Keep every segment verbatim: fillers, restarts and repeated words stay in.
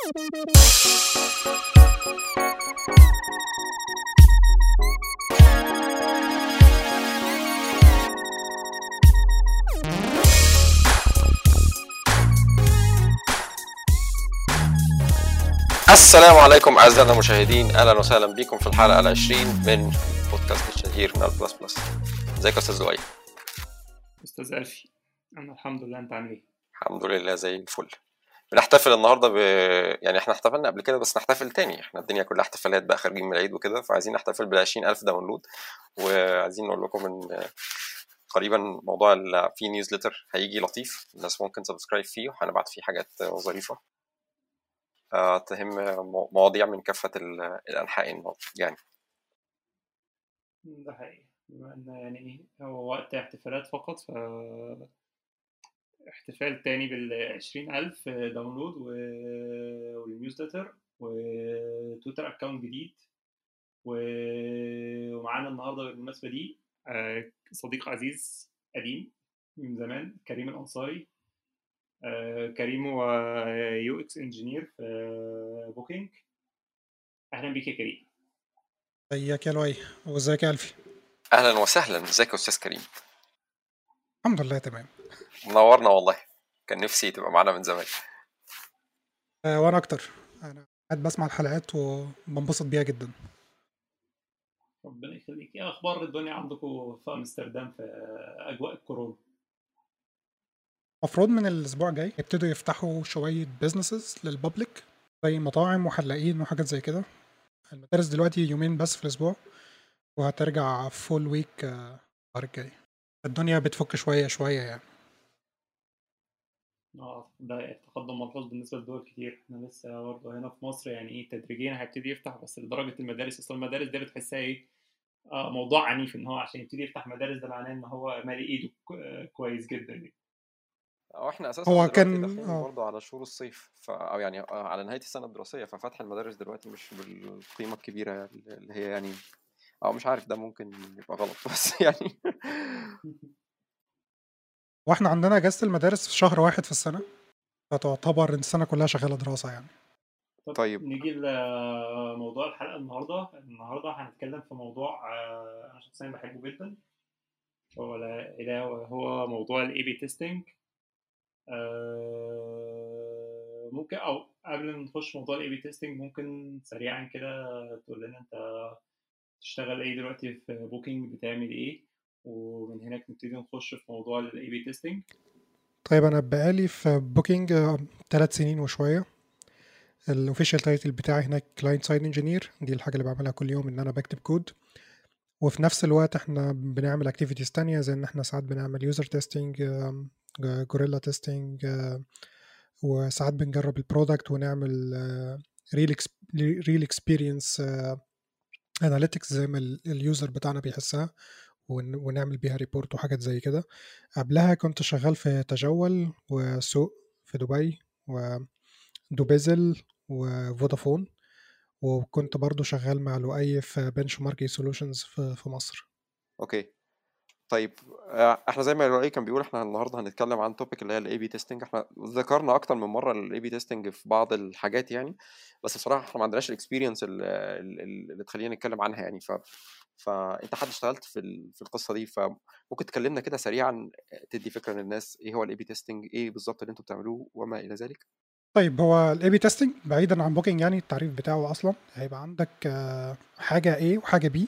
السلام عليكم أعزائنا المشاهدين، أهلا وسهلا بكم في الحلقة العشرين من بودكاست الشهير من البلس بلس. ازيك يا أستاذ زوي؟ أستاذ ألفي، أنا الحمد لله. أنت عامل إيه؟ الحمد لله زي الفل. بنحتفل النهارده ب... يعني احنا احتفلنا قبل كده بس نحتفل تاني. احنا الدنيا كلها احتفالات بقى، خارجين من العيد وكده، فعايزين نحتفل بالعشرين ألف داونلود. وعايزين نقول لكم ان قريبا موضوع ال... في نيوزليتر هيجي لطيف، الناس ممكن سبسكرايب فيه وهنبعت فيه حاجات ظريفة آه، تهم مو- مواضيع من كافة ال- الأنحاء النهارده يعني. ده حقيقي، بما إن يعني هو وقت احتفالات فقط، ف احتفال تاني بالعشرين ألف داونلود و... والنيوزلتر وتويتر أكاونت جديد و... ومعانا النهاردة بالمناسبة دي آه، صديق عزيز قديم من زمان، كريم الأنصاري. آه، كريم هو يو اكس انجينير في بوكينج. أهلا بيك يا كريم. ازيك يا لؤي وازيك يا ألفي؟ أهلا وسهلا، ازيك يا أستاذ كريم؟ الحمد لله تمام. منورنا والله، كان نفسي تبقى معانا من زمان. آه، وانا اكتر. انا قاعد بسمع الحلقات وبنبسط بيها جدا. ربنا يخليك. ايه اخبار الدنيا عندكم في امستردام في اجواء الكورونا؟ المفروض من الاسبوع الجاي يبتدوا يفتحوا شويه بيزنسز للبابليك زي مطاعم وحلاقين وحاجات زي كده. المدارس دلوقتي يومين بس في الاسبوع، وهترجع فول ويك الشهر الجاي. الدنيا بتفك شويه شويه يعني. اه، ده تقدم ملحوظ بالنسبه لدول كتير. احنا لسه برضه هنا في مصر يعني ايه تدريجيا هيبتدي يفتح، بس لدرجه المدارس. اصلا المدارس دي بتحسها ايه، آه موضوع عنيف. ان هو عشان يبتدي يفتح مدارس ده معناه ان هو مالي ايده كو- كويس جدا يعني. أو احنا أساسا هو دلوقتي كان داخلين اه برضو على شهور الصيف ف... أو يعني آه، على نهاية السنة الدراسية، ففتح المدارس دلوقتي مش بالقيمة الكبيرة اللي هي يعني، أو مش عارف، ده ممكن يبقى غلط بس يعني. واحنا عندنا اجازه المدارس في شهر واحد في السنه، فتعتبر السنه كلها شغاله دراسه يعني. طب طيب نيجي لموضوع الحلقه. النهارده النهارده هنتكلم في موضوع آه انا شخصيا بحبه جدا، هو لا إله هو موضوع الاي بي تيستنج. آه، ممكن او قبل ما نخش موضوع الاي بي تيستنج، ممكن سريعا كده تقول لنا انت تشتغل ايه دلوقتي في بوكينج، بتعمل ايه، ومن هناك نبتدي نخش في موضوع الاي بي تيستنج. طيب انا بقالي في بوكينج ثلاث سنين وشويه. الاوفيشال تايتل بتاعي هناك كلاينت سايد انجينير، دي الحاجه اللي بعملها كل يوم ان انا بكتب كود. وفي نفس الوقت احنا بنعمل اكتيفيتيز تانية، زي ان احنا ساعات بنعمل يوزر تيستنج، جوريلا تيستنج، وساعات بنجرب البرودكت ونعمل ريل ريل اكسبيرينس اناليتكس زي ما اليوزر بتاعنا بيحسها، ون- ونعمل بيها ريبورت وحاجات زي كده. قبلها كنت شغال في تجول وسوق في دبي ودوبيزل وفودافون، وكنت برضو شغال مع لؤي في بنش ماركي سولوشنز في في مصر. اوكي. طيب آه، احنا زي ما رأي كان بيقول، احنا النهارده هنتكلم عن توبيك اللي هي الاي بي تيستنج. احنا ذكرنا اكتر من مره الاي بي تيستنج في بعض الحاجات يعني، بس بصراحه احنا ما عندناش الاكسبيرينس اللي تخلينا نتكلم عنها يعني. ف فانت حد اشتغلت في ال... في القصه دي، فممكن تكلمنا كده سريعا، تدي فكره للناس ايه هو الاي بي تيستنج، ايه بالظبط اللي انتوا بتعملوه وما الى ذلك. طيب، هو الاي بي تيستنج بعيدا عن بوكينج، يعني التعريف بتاعه اصلا هيبقى عندك آه، حاجه A وحاجه B،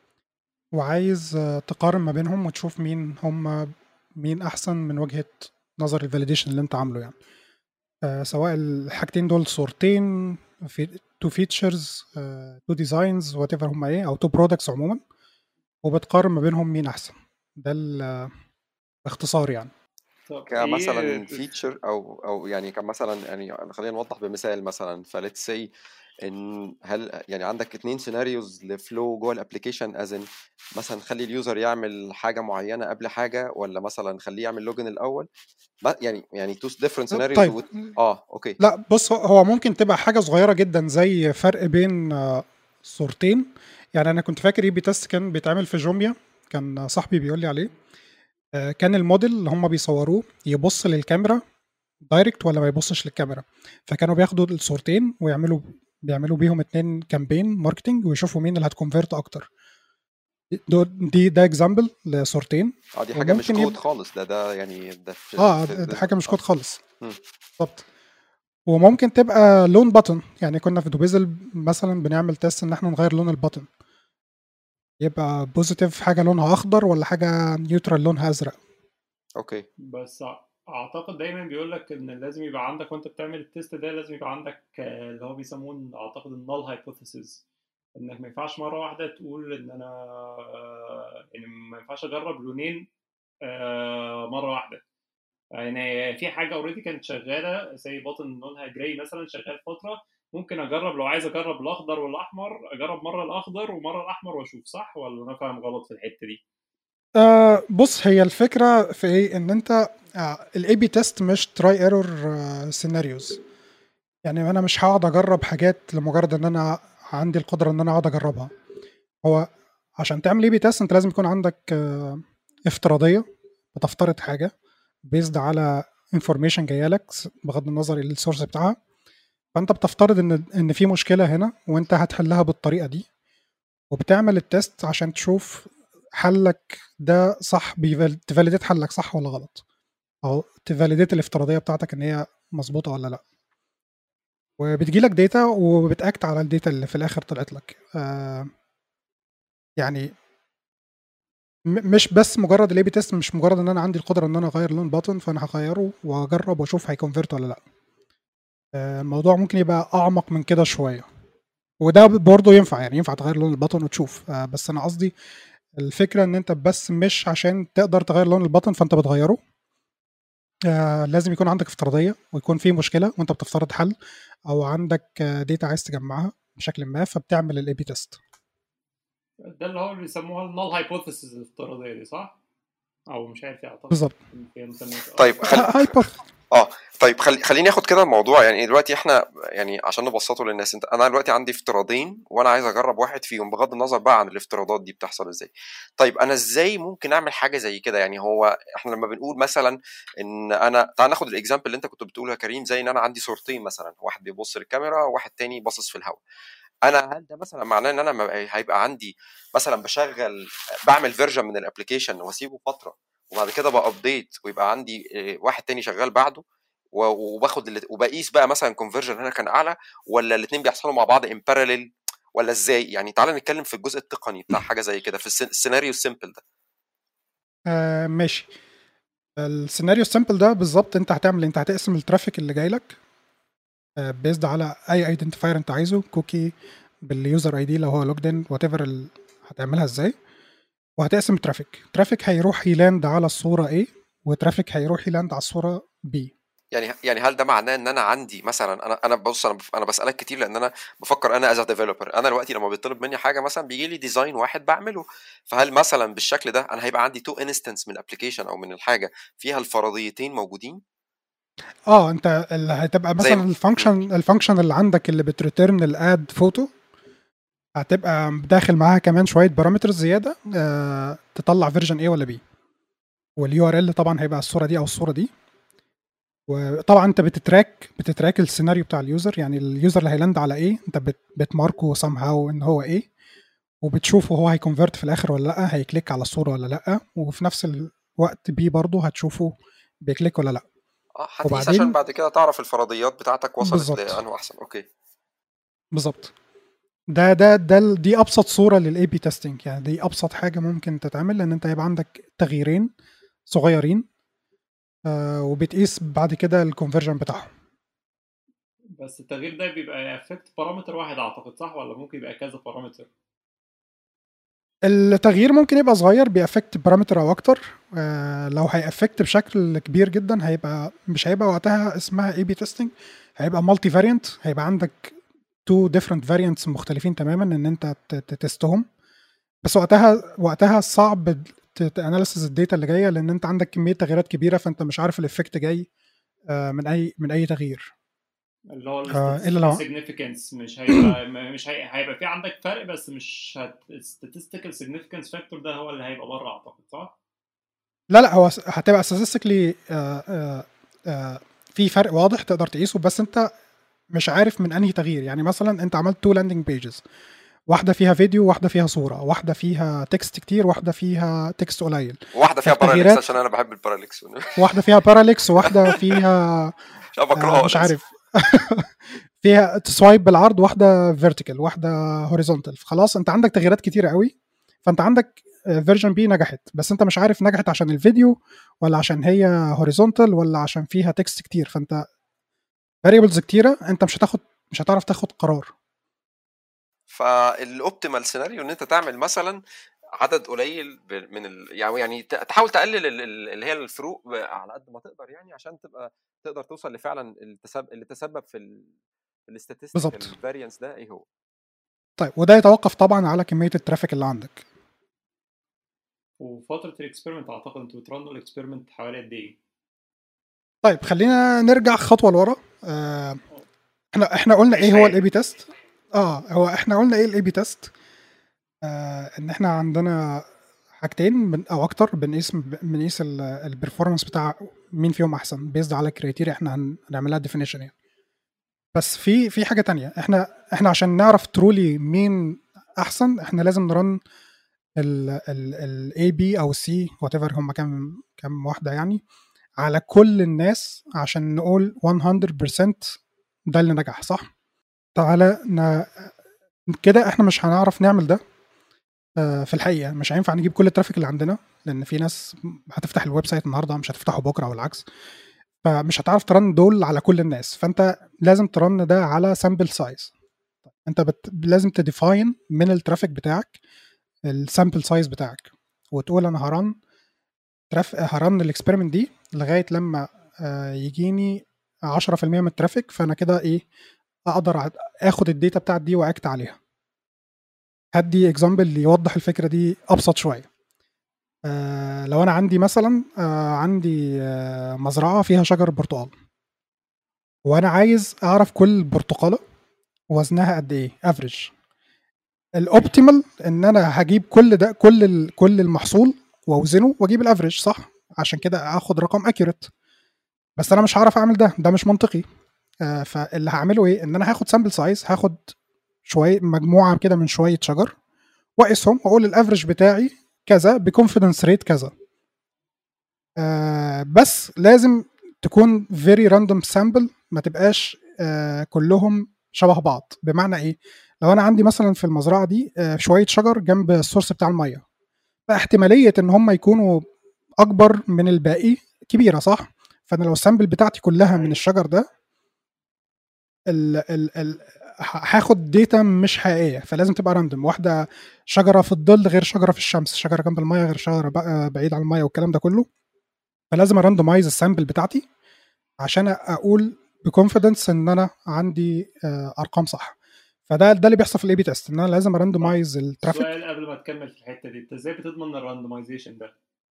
وعايز آه، تقارن ما بينهم وتشوف مين هم مين احسن من وجهه نظر الفاليديشن اللي انت عامله يعني. آه، سواء الحاجتين دول صورتين، في تو فيتشرز، تو ديزاينز، وات ايفر هم ايه، او تو برودكتس عموما، وبتقارن ما بينهم مين احسن. ده ال- باختصار يعني. طب ايه كمثلا فيتشر او او يعني كمثلا، يعني خلينا نوضح بمثال مثلا. فليتس سي ان هل يعني عندك اتنين سيناريوز لفلو جوه الابلكيشن، ازن مثلا خلي اليوزر يعمل حاجه معينه قبل حاجه، ولا مثلا خليه يعمل لوجن الاول، ما- يعني يعني تو ديفرنت سيناريوز. طيب، اه اوكي. لا بص، هو هو ممكن تبقى حاجه صغيره جدا زي فرق بين آه، صورتين. يعني انا كنت فاكر اي بي تيست كان بيتعمل في جوميا، كان صاحبي بيقول لي عليه. آه، كان الموديل اللي هم بيصوروه يبص للكاميرا دايركت ولا ما يبصش للكاميرا. فكانوا بياخدوا الصورتين ويعملوا بيعملوا بيهم اتنين كامبين ماركتنج ويشوفوا مين اللي هتكونفيرت اكتر. دول- دي ده اكزامبل لصورتين. اه دي حاجه مش وممكن كود يبقى خالص، ده ده يعني ده في اه في دي حاجه مش اه كود خالص. مم. بالظبط. وممكن تبقى لون بutton، يعني كنا في دوبيزل مثلا بنعمل تيست ان احنا نغير لون البutton، يبقى بوزيتيف حاجه لونها اخضر ولا حاجه نيوترال لونها ازرق. اوكي بس أع- اعتقد دايما بيقول لك ان لازم يبقى عندك وانت بتعمل التيست ده لازم يبقى عندك آه، اللي هو بيسموه اعتقد النال هايبوثيسيس، انك ما ينفعش مره واحده تقول ان انا آه، ان ما ينفعش اجرب لونين آه، مره واحده. يعني في حاجه اوريدي كانت شغاله زي بطن لونها جراي مثلا شغال فتره، ممكن اجرب لو عايز اجرب الاخضر والاحمر اجرب مره الاخضر ومره الاحمر واشوف صح ولا انا فاهم غلط في الحته دي. آه بص، هي الفكره في ايه، ان انت الاي بي تيست مش تراي ايرور سيناريوز. يعني انا مش هقعد اجرب حاجات لمجرد ان انا عندي القدره ان انا اقعد اجربها. هو عشان تعمل اي بي تيست انت لازم يكون عندك آه افتراضيه، بتفترض حاجه بيزد على انفورميشن جايه لك بغض النظر ايه السورس بتاعها. فانت بتفترض ان ان في مشكله هنا وانت هتحلها بالطريقه دي، وبتعمل التيست عشان تشوف حلك ده صح، تفاليديت حلك صح ولا غلط، او تفاليديت الافتراضيه بتاعتك ان هي مظبوطه ولا لا. وبتجيلك داتا وبتاكت على الداتا اللي في الاخر طلعت لك. آه يعني م- مش بس مجرد الاي بي تيست، مش مجرد ان انا عندي القدره ان انا اغير لون باتن فانا هغيره واجرب واشوف هيكونفيرت ولا لا. آه الموضوع ممكن يبقى اعمق من كده شويه، وده برضه ينفع، يعني ينفع تغير لون البطن وتشوف. آه بس انا قصدي الفكره ان انت بس مش عشان تقدر تغير لون البطن فانت بتغيره. آه لازم يكون عندك افتراضيه ويكون في مشكله وانت بتفترض حل، او عندك آه داتا عايز تجمعها بشكل ما فبتعمل الاي بي تيست. ده اللي هو اللي بيسموها النال هايبوثيسيس الافتراضيه دي صح؟ او مش عارف اعتقد بالظبط. فيها مسميات اه. طيب خل... هايبوث اه طيب خلي خليني اخد كده الموضوع. يعني دلوقتي احنا يعني عشان نبسطه للناس، انت انا دلوقتي عندي افتراضين وانا عايز اجرب واحد فيهم بغض النظر بقى عن الافتراضات دي بتحصل ازاي. طيب انا ازاي ممكن اعمل حاجه زي كده؟ يعني هو احنا لما بنقول مثلا ان انا تعال ناخد الاكزامبل اللي انت كنت بتقوله يا كريم، زي ان انا عندي صورتين مثلا، واحد بيبص للكاميرا وواحد تاني باصص في الهواء. انا هل ده مثلا معناه ان انا ما- هيبقى عندي مثلا بشغل بعمل فيرجن من الابلكيشن واسيبه فتره وبعد كده بابديت ويبقى عندي آه، واحد تاني شغال بعده و- وباخد اللي- وبقيس بقى مثلا كونفرجن هنا كان اعلى، ولا الاثنين بيحصلوا مع بعض ان باراليل، ولا ازاي؟ يعني تعالى نتكلم في الجزء التقني بتاع حاجه زي كده في السن- السيناريو السيمبل ده. آه ماشي. السيناريو السامبل ده بالظبط انت هتعمل، انت هتقسم الترافيك اللي جاي لك آه بيزد على اي ايدنتيفاير انت عايزه، كوكي باليوزر اي دي لو هو لوجد ان وات ايفر، هتعملها ازاي. وهتقسم الترافيك، ترافيك هيروح يلاند على الصورة A وترافيك هيروح يلاند على الصورة B. يعني يعني هل ده معناه ان انا عندي مثلا، انا انا بص انا بف- انا بسالك كتير لان انا بفكر انا از ديفلوبر. انا دلوقتي لما بيطلب مني حاجه مثلا بيجي لي ديزاين واحد بعمله، فهل مثلا بالشكل ده انا هيبقى عندي تو انستنس من الابلكيشن او من الحاجه فيها الفرضيتين موجودين؟ اه انت اللي هتبقى زي مثلا م- مم. الفانكشن الفانكشن اللي عندك اللي بتريتيرن الاد فوتو هتبقى داخل معاها كمان شويه بارامترز زياده آه تطلع فيرجن A ولا B. واليو ار ال طبعا هيبقى الصوره دي او الصوره دي. وطبعا انت بتتراك بتتراك السيناريو بتاع اليوزر، يعني اليوزر اللي هيلاند على ايه انت بت بتماركه سام هاو ان هو ايه، وبتشوفه هو هيكونفرت في الاخر ولا لا، هيكليك على الصوره ولا لا. وفي نفس الوقت بي برضه هتشوفه بيكليك ولا لا. اه هتقيس عشان وبعدين بعد كده تعرف الفرضيات بتاعتك وصلت بالظبط لانه احسن. اوكي بالظبط. ده ده ده ال- دي ابسط صوره للاي بي تيستنج، يعني دي ابسط حاجه ممكن تتعمل، لان انت هيبقى عندك تغييرين صغيرين آه وبتقيس بعد كده الكونفرجن بتاعهم. بس التغيير ده بيبقى افكت بارامتر واحد اعتقد صح ولا ممكن يبقى كذا بارامتر؟ التغيير ممكن يبقى صغير بيأفكت بارامتر او اكتر. آه لو هيأفكت بشكل كبير جدا هيبقى مش هيبقى وقتها اسمها اي بي تيستنج، هيبقى مالتي فاريانت. هيبقى عندك تو ديفرنت فاريانتس مختلفين تماما ان انت ت- ت- تستهم. بس وقتها وقتها صعب تاناليسز الداتا اللي جايه، لان انت عندك كميه تغييرات كبيره فانت مش عارف الافكت جاي آه من اي من اي تغيير. اللي هو آه الا الستاتستيكال لو سيجنيفيكانس مش هيبقى مش هي... هيبقى في عندك فرق بس مش هت... statistical significance factor ده هو اللي هيبقى بره اعتقد صح؟ لا لا هو هتبقى statistically آه آه آه في فرق واضح تقدر تقيسه، بس انت مش عارف من انهي تغيير. يعني مثلا انت عملت تو لاندنج بيجز، واحده فيها فيديو، واحده فيها صوره، واحده فيها تكست كتير، واحده فيها تكست قليل، واحده فيها باراليكس التغييرات عشان انا بحب الباراليكس واحده فيها باراليكس، واحده فيها عشان آه بكرهها مش للاسف. عارف فيها تسوايب بالعرض، واحده فيرتيكال، واحده هوريزونتال. خلاص انت عندك تغييرات كتيره قوي، فانت عندك فيرجن بي نجحت، بس انت مش عارف نجحت عشان الفيديو ولا عشان هي هوريزونتال ولا عشان فيها تكست كتير. فانت فاريبلز كتيره، انت مش هتاخد مش هتعرف تاخد قرار. فالاوبتيمال سيناريو ان انت تعمل مثلا عدد قليل ب- من ال... يعني يعني ت- تحاول تقلل ال- ال- اللي هي الفروق ب- على قد ما تقدر، يعني عشان تبقى تقدر توصل لفعلا التسبب اللي تسبب في ال... في الاستاتستيكال بالظبط. فاريانس ده ايه هو. طيب وده يتوقف طبعا على كميه الترافيك اللي عندك. وفتره الاكسبيرمنت اعتقد انتوا بترنوا الاكسبيرمنت حوالي قد ايه؟ طيب خلينا نرجع خطوه لورا. آه احنا احنا قلنا عيش ايه هو الاي بي حياتك. تيست. اه هو احنا قلنا ايه الاي بي تيست. آه ان احنا عندنا حاجتين من او اكتر، بنقيس بنقيس البرفورمانس بتاع مين فيهم احسن بيزد على كريتيريا احنا هن- هنعملها ديفينيشن يعني. بس في في حاجه تانية، احنا احنا عشان نعرف ترولي مين احسن، احنا لازم نرن الاي بي او السي وات ايفر هم كام كام واحده يعني على كل الناس عشان نقول مية بالمية ده اللي نجح صح. تعالى ن... كده احنا مش هنعرف نعمل ده. آه، في الحقيقه مش هينفع نجيب كل الترافيك اللي عندنا، لان في ناس هتفتح الويب سايت النهارده مش هتفتحه بكره او العكس، فمش هتعرف ترن دول على كل الناس. فانت لازم ترن ده على سامبل سايز. انت بت... لازم تديفاين من الترافيك بتاعك السامبل سايز بتاعك، وتقول انا هرن تراف... هرن الاكسبيرمنت دي لغايه لما آه، يجيني عشرة في المية من الترافيك، فانا كده ايه اقدر أ- اخد الداتا بتاعت دي واكت عليها. هدي اكزامبل يوضح الفكره دي ابسط شويه. آه لو انا عندي مثلا آه عندي آه مزرعه فيها شجر برتقال، وانا عايز اعرف كل برتقاله وزنها قد ايه افريج. الاوبتيمال ان انا هجيب كل ده كل ال- كل المحصول واوزنه واجيب الافريج صح، عشان كده اخد رقم اكيوريت. بس انا مش هعرف اعمل ده، ده مش منطقي. آه فاللي هعمله ايه، ان انا هاخد سامبل سايز، هاخد شويه مجموعه كده من شويه شجر واقيسهم واقول الافريج بتاعي كذا بكونفيدنس ريت كذا. آه بس لازم تكون فيري راندوم سامبل، ما تبقاش آه كلهم شبه بعض. بمعنى ايه، لو انا عندي مثلا في المزرعه دي آه شويه شجر جنب السورس بتاع الميه، فاحتماليه ان هم يكونوا اكبر من الباقي كبيره صح. فانا لو السامبل بتاعتي كلها من الشجر ده ال ال ال هاخد داتا مش حقيقيه، فلازم تبقى راندوم. واحده شجره في الظل غير شجره في الشمس، شجره جنب الميه غير شجره بقى بعيد عن الميه والكلام ده كله. فلازم اراندومايز السامبل بتاعتي عشان اقول بكونفيدنس ان انا عندي آه، ارقام صح. فده ده اللي بيحصل في الاي بي تيست، ان انا لازم طب اراندومايز الترافيك. سؤال قبل ما تكمل في الحته دي، انت ازاي بتضمن الراندمايزيشن ده؟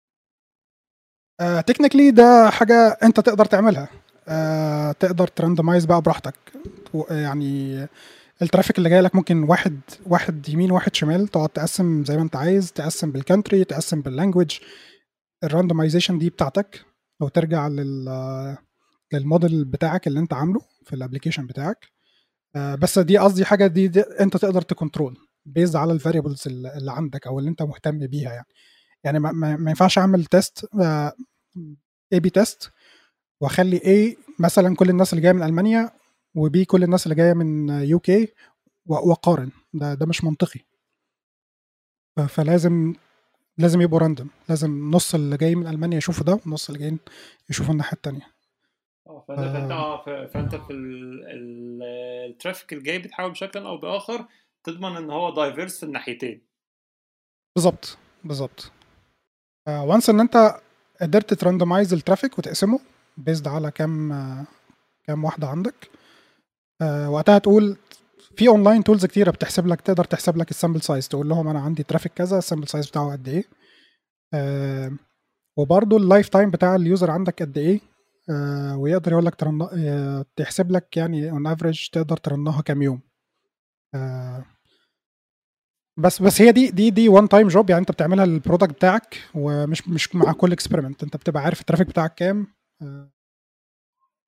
تكنيكلي ده حاجه انت تقدر تعملها. آه، تقدر تراندمايز بقى براحتك. و- يعني الترافيك اللي جاي لك ممكن واحد واحد يمين واحد شمال، تقعد تقسم زي ما انت عايز، تقسم بالكانتري، تقسم باللانجوج. الراندمايزيشن دي بتاعتك، لو ترجع لل للموديل بتاعك اللي انت عامله في الابلكيشن بتاعك. آه، بس دي قصدي حاجه دي, دي انت تقدر تكنترول بيز على الفاريبلز اللي عندك او اللي انت مهتم بيها يعني. يعني ما, ما ما ينفعش اعمل تيست اي بي تيست واخلي A مثلا كل الناس اللي جايه من المانيا، وبي كل الناس اللي جايه من يو كي، واقارن. ده ده مش منطقي. ف- فلازم لازم يبقوا راندوم، لازم نص اللي جاي من المانيا يشوفوا ده ونص اللي جايين يشوفوا الناحيه التانيه. اه فانت فانت اه ف- فانت في ال- ال- الترافيك الجاي بتحاول بشكل او باخر تضمن ان هو دايفيرس في الناحيتين. بالظبط بالظبط. وانس ان انت قدرت تراندمايز الترافيك وتقسمه بيزد على كام آه، كام واحده عندك. آه، وقتها تقول في اونلاين تولز كتيره بتحسب لك، تقدر تحسب لك السامبل سايز، تقول لهم انا عندي ترافيك كذا، السامبل سايز بتاعه قد ايه. آه، وبرضه اللايف تايم بتاع اليوزر عندك قد ايه. آه، ويقدر يقول لك ترن... آه، تحسب لك يعني اون افريج تقدر ترنها كام يوم. آه، بس بس هي دي دي دي وان تايم جوب، يعني انت بتعملها للبرودكت بتاعك، ومش مش مع كل اكسبيرمنت. انت بتبقى عارف الترافيك بتاعك كام. آه،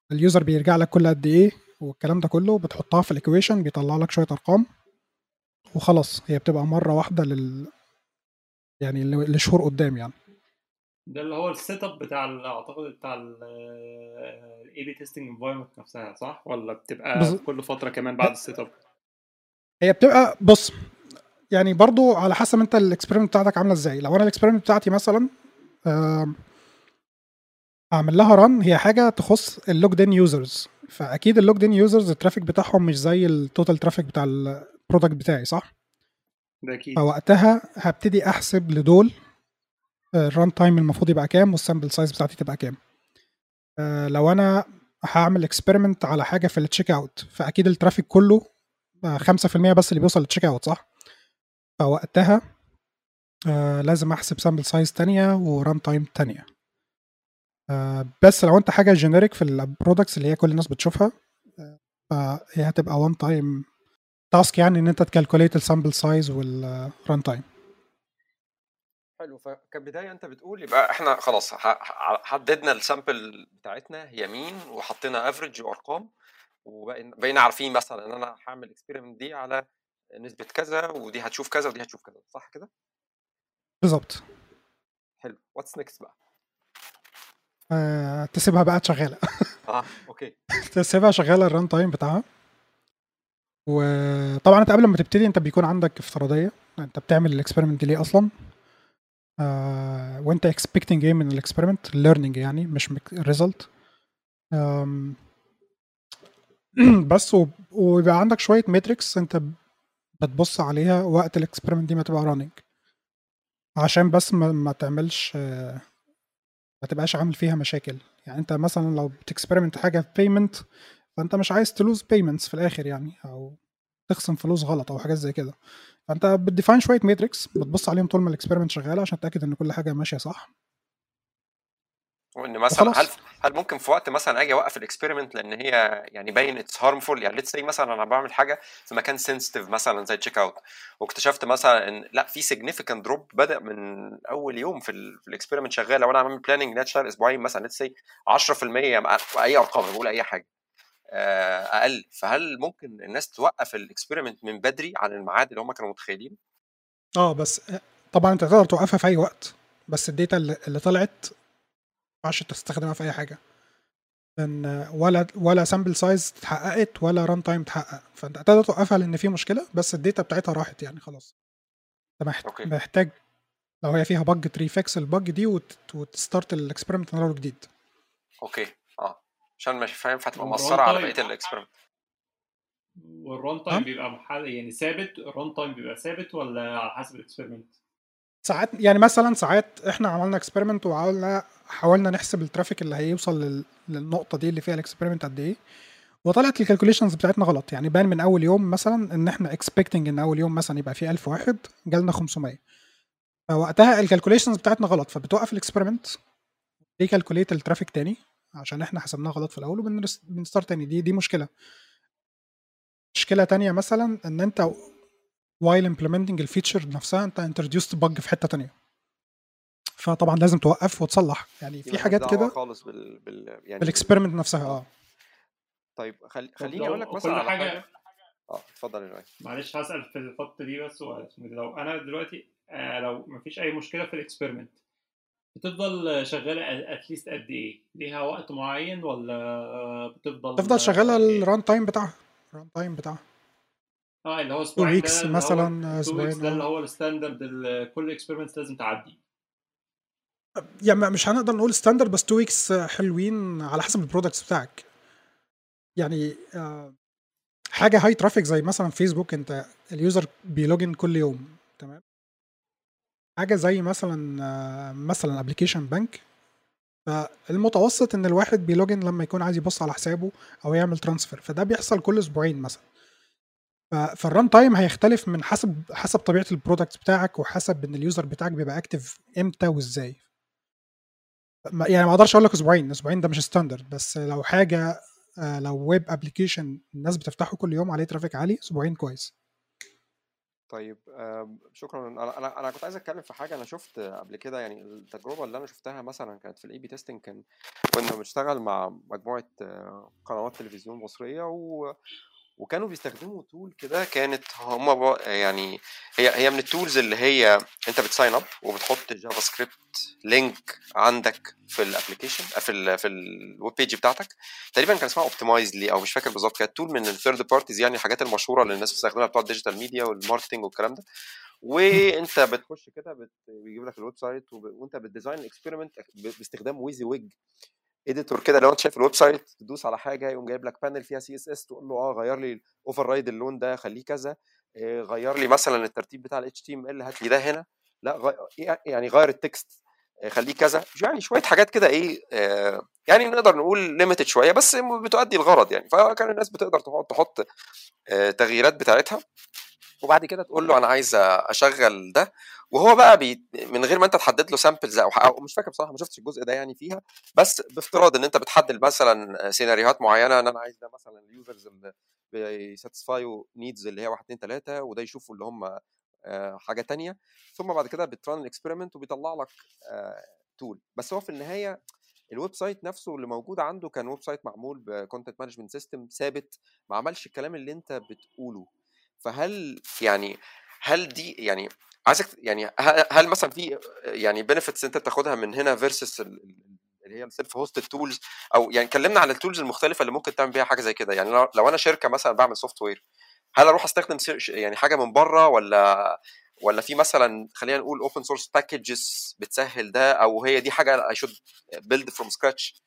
اليوزر بيرجع لك كل قد ايه والكلام ده كله، بتحطها في الايكويشن بيطلع لك شويه ارقام وخلاص. هي بتبقى مره واحده لل يعني ل- لشهور قدام يعني. ده اللي هو السيت اب بتاع ال- اعتقد بتاع الاي بي تيستنج انفايرمنت نفسها، صح؟ ولا بتبقى بز... كل فتره كمان بعد السيت اب؟ هي بتبقى بص، يعني برضو على حسب انت الاكسبيرمنت بتاعتك عامله ازاي. لو انا الاكسبيرمنت بتاعتي مثلا آم، اعمل لها ران، هي حاجه تخص اللوجد ان يوزرز، فاكيد اللوجد ان يوزرز الترافيك بتاعهم مش زي التوتال ترافيك بتاع البرودكت بتاعي، صح؟ ده اكيد. فوقتها هبتدي احسب لدول الران تايم المفروض يبقى كام والسامبل سايز بتاعتي تبقى كام. آه، لو انا هعمل اكسبيرمنت على حاجه في التشيك اوت، فاكيد الترافيك كله آه، خمسة في المية بس اللي بيوصل للتشيك اوت، صح؟ فوقتها آه، لازم احسب سامبل سايز تانية وران تايم تانية. آه، بس لو انت حاجه جينيريك في البرودكتس اللي هي كل الناس بتشوفها، آه، فهي هتبقى وان تايم تاسك، يعني ان انت تكالكوليت السامبل سايز والران تايم. حلو. فكبدايه انت بتقول يبقى احنا خلاص ح- ح- حددنا السامبل بتاعتنا هي مين، وحطينا افريج وارقام، وبقينا عارفين مثلا ان انا هعمل اكسبيرمنت دي على نسبه كذا، ودي هتشوف كذا ودي هتشوف كذا، صح كده؟ بالظبط. حلو. واتس نيكست بقى؟ آه، تسيبها بقى شغاله. اه اوكي. تسيبها شغاله الران تايم بتاعها. وطبعا انت قبل ما تبتدي انت بيكون عندك افتراضيه انت بتعمل الاكسبيرمنت ليه اصلا، آه، وانت اكسبكتنج ايه من الاكسبيرمنت، ليرنينج يعني مش ريزلت. بس وب- ويبقى عندك شويه ماتريكس انت بتبص عليها وقت الاكسبيرمنت دي ما تبقى راننج، عشان بس ما, ما تعملش آه، ما تبقاش عامل فيها مشاكل. يعني انت مثلا لو بتكسبيرمنت حاجه في بيمنت، فانت مش عايز تلوز بيمنتس في الاخر يعني، او تخصم فلوس غلط او حاجات زي كده. فانت بتديفاين شويه ماتريكس بتبص عليهم طول ما الاكسبيرمنت شغاله عشان تتاكد ان كل حاجه ماشيه صح وان مثلا هل وخلاص. هل ممكن في وقت مثلا اجي اوقف الاكسبيرمنت لان هي يعني باين اتس هارمفول؟ يعني ليتس سي مثلا انا بعمل حاجه في مكان سنسيتيف مثلا زي تشيك اوت، واكتشفت مثلا ان لا في سيجنيفيكانت دروب بدا من اول يوم في ال في الاكسبيرمنت شغال، لو انا عامل بلاننج انها تشتغل اسبوعين مثلا ليتس سي عشرة في المية مع اي ارقام، بقول اي حاجه آه، اقل، فهل ممكن الناس توقف الاكسبيرمنت من بدري عن الميعاد اللي هم كانوا متخيلين؟ اه بس آه، طبعا انت تقدر توقفها في اي وقت، بس الداتا اللي اللي طلعت ما ينفعش تستخدمها في اي حاجه، لان آه، ولا ولا سامبل سايز اتحققت ولا ران تايم اتحقق. فانت تقدر توقفها لان في مشكله، بس الداتا بتاعتها راحت يعني خلاص. انت محت- اوكي محتاج لو هي فيها بج تريفكس البج دي وت- وتستارت الاكسبيرمنت من اول جديد. اوكي اه، عشان مش فاهم فتبقى والران مأثره على تايم بقيه الاكسبيرمنت. والران تايم تمام. بيبقى محل يعني ثابت، الران تايم بيبقى ثابت ولا على حسب الاكسبيرمنت؟ ساعات يعني مثلا ساعات احنا عملنا اكسبيرمنت وحاولنا حاولنا نحسب الترافيك اللي هيوصل لل... للنقطه دي اللي فيها الاكسبيرمنت قد ايه، وطلعت الكالكوليشنز بتاعتنا غلط. يعني بان من اول يوم مثلا ان احنا اكسبكتنج ان اول يوم مثلا يبقى فيه ألف واحد، جالنا خمسمية. فوقتها الكالكوليشنز بتاعتنا غلط، فبتوقف الاكسبيرمنت ريكالكوليت الترافيك تاني عشان احنا حسبناه غلط في الاول، وبنستارت تاني. دي دي مشكله. مشكله تانية مثلا ان انت while implementing الفيتشر نفسها انت introduced bug في حته تانية، فطبعا لازم توقف وتصلح. يعني دي في ملهاش حاجات دعوه كده خالص بال, بال... يعني بال... بالاكسبيرمنت نفسها. اه اه طيب خل... طب خليني اقول لك لو مثلا كل على حاجه، حاجه. اه اتفضل يا جماعه. معلش هسأل في الخط دي بس سؤال اسمه إيه ده. لو انا دلوقتي آه، لو مفيش اي مشكله في الاكسبيرمنت، بتفضل شغاله اتليست قد ايه؟ ليها وقت معين ولا بتفضل تفضل شغاله اه إيه؟ الران تايم بتاعها الران تايم بتاعها آه، اللي هو اتنين اسبوعين، ده ويكس اللي هو مثلا، تو ويكس، اسبوعين ده اللي اه. هو الستاندرد اللي كل اكسبيرمنت لازم تعدي؟ يعني مش هنقدر نقول ستاندرد، بس اتنين ويكس حلوين على حسب البرودكتس بتاعك. يعني آه، حاجه هاي ترافيك زي مثلا فيسبوك، انت اليوزر بيلوجن كل يوم، تمام. حاجه زي مثلا آه، مثلا ابلكيشن بنك، فالمتوسط ان الواحد بيلوجن لما يكون عايز يبص على حسابه او يعمل ترانسفير، فده بيحصل كل اسبوعين مثلا. ف- فالران تايم هيختلف من حسب حسب طبيعه البرودكت بتاعك، وحسب ان اليوزر بتاعك بيبقى اكتف امتى وازاي. ما- يعني ما اقدرش اقول لك اسبوعين، اسبوعين ده مش ستاندرد. بس لو حاجه آه، لو ويب ابلكيشن الناس بتفتحه كل يوم عليه ترافيك عالي، اسبوعين كويس. طيب آم، شكرا. انا انا انا كنت عايز اتكلم في حاجه انا شفت قبل كده. يعني التجربه اللي انا شفتها مثلا كانت في الاي بي تيستنج. كان كنا بنشتغل مع مجموعه آه، قنوات تلفزيون مصريه و وكانوا بيستخدموا تول كده. كانت هم ب- يعني هي هي من التولز اللي هي انت بتساين اب وبتحط جافا سكريبت لينك عندك في الابلكيشن في ال في الويب بيج بتاعتك. تقريبا كان اسمها اوبتمايزلي او مش فاكر بالظبط. كانت تول من الثيرد بارتيز، يعني الحاجات المشهوره اللي الناس بتستخدمها بتوع الديجيتال ميديا والماركتنج والكلام ده. وانت بتخش كده بت- بيجيب لك الويب سايت وب... وانت بتديزاين الاكسبيرمنت باستخدام ويزي ويج اديتور كده. لو انت شايف الويب سايت تدوس على حاجه يقوم جايب لك بانل فيها سي اس اس، تقول له اه غير لي الاوفر رايد اللون ده خليه كذا، آه، غير لي مثلا الترتيب بتاع الاتش تي ام ال هات لي ده هنا، لا غي... يعني غير التكست آه، خليه كذا. يعني شويه حاجات كده ايه آه، يعني نقدر نقول ليميتد شويه بس بتؤدي الغرض يعني. فكان الناس بتقدر تحط تحط آه، تغييرات بتاعتها وبعد كده تقول له انا عايز اشغل ده. وهو بقى بي من غير ما انت تحدد له سامبلز او, أو مش فاكر بصراحه، ما شفتش الجزء ده يعني فيها. بس بافتراض ان انت بتحدد مثلا سيناريوهات معينه، ان انا عايز ده مثلا اليوزرز اللي بيساتسفايو نيدز اللي هي واحد اتنين تلاته، وده يشوفوا اللي هم آه، حاجه تانية. ثم بعد كده بتران الاكسبيرمنت وبيطلع لك تول. بس هو في النهايه الويب سايت نفسه اللي موجود عنده كان ويب سايت معمول بكونتنت مانجمنت سيستم ثابت، ما عملش الكلام اللي انت بتقوله. فهل يعني هل دي يعني عايزك يعني ه- هل مثلا في يعني بنفيتس انت بتاخدها من هنا فيرسس اللي هي السيلف هوستد تولز؟ او يعني كلمنا على التولز المختلفه اللي ممكن تعمل بيها حاجه زي كده. يعني لو لو انا شركه مثلا بعمل سوفت وير، هل اروح استخدم سير- يعني حاجه من بره، ولا ولا في مثلا خلينا نقول اوبن سورس باكجز بتسهل ده، او هي دي حاجه I should build from scratch؟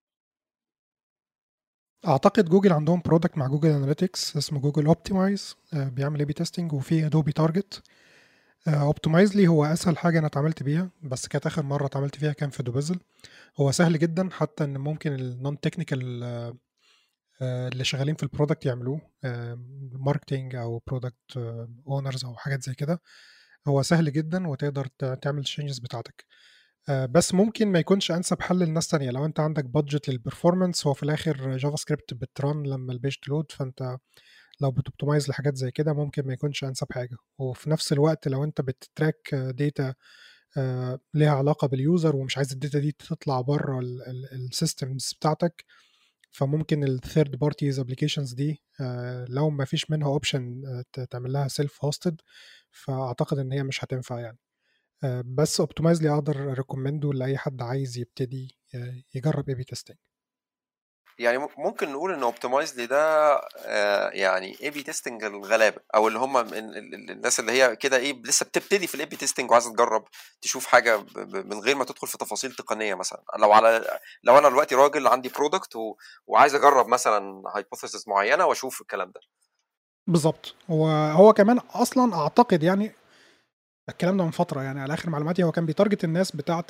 اعتقد جوجل عندهم برودكت مع جوجل اناليتكس اسمه جوجل اوبتمايز، بيعمل اي بي تيستنج، وفي ادوبي تارجت. اوبتمايزلي هو اسهل حاجه انا اتعاملت بيها، بس كانت اخر مره اتعاملت فيها كان في دوبيزل. هو سهل جدا، حتى ان ممكن النون تكنيكال اللي شغالين في البرودكت يعملوه، ماركتينج او برودكت اونرز او حاجات زي كده. هو سهل جدا وتقدر ت- تعمل الشينجز بتاعتك. آه، بس ممكن ما يكونش انسب حل للناس تانية. لو انت عندك بادجت للبرفورمانس، هو في الاخر جافا سكريبت بتران لما البيج تلود، فانت لو بتوبتمايز لحاجات زي كده ممكن ما يكونش انسب حاجه. وفي نفس الوقت لو انت بتتراك داتا ليها علاقه باليوزر ومش عايز الداتا دي تطلع بره السيستمز بتاعتك، فممكن الثيرد بارتيز ابلكيشنز دي آه، لو ما فيش منها اوبشن تعمل لها سيلف هوستد، فاعتقد ان هي مش هتنفع يعني. آه، بس اوبتمايزلي اقدر ريكومندو لاي حد عايز يبتدي آه، يجرب اي بي تيستنج. يعني م- ممكن نقول ان اوبتمايزلي ده آه، يعني اي بي تيستنج الغلابه، او اللي هم من ال- ال- الناس اللي هي كده ايه لسه بتبتدي في الاي بي تيستنج وعايزه تجرب تشوف حاجه ب- ب- من غير ما تدخل في تفاصيل تقنيه. مثلا لو على لو انا دلوقتي راجل عندي برودكت و... وعايز اجرب مثلا هايبوثيسز معينه واشوف الكلام ده. بالظبط. هو هو كمان اصلا اعتقد يعني الكلام ده من فتره، يعني على اخر معلوماتي هو كان بيتارجت الناس بتاعه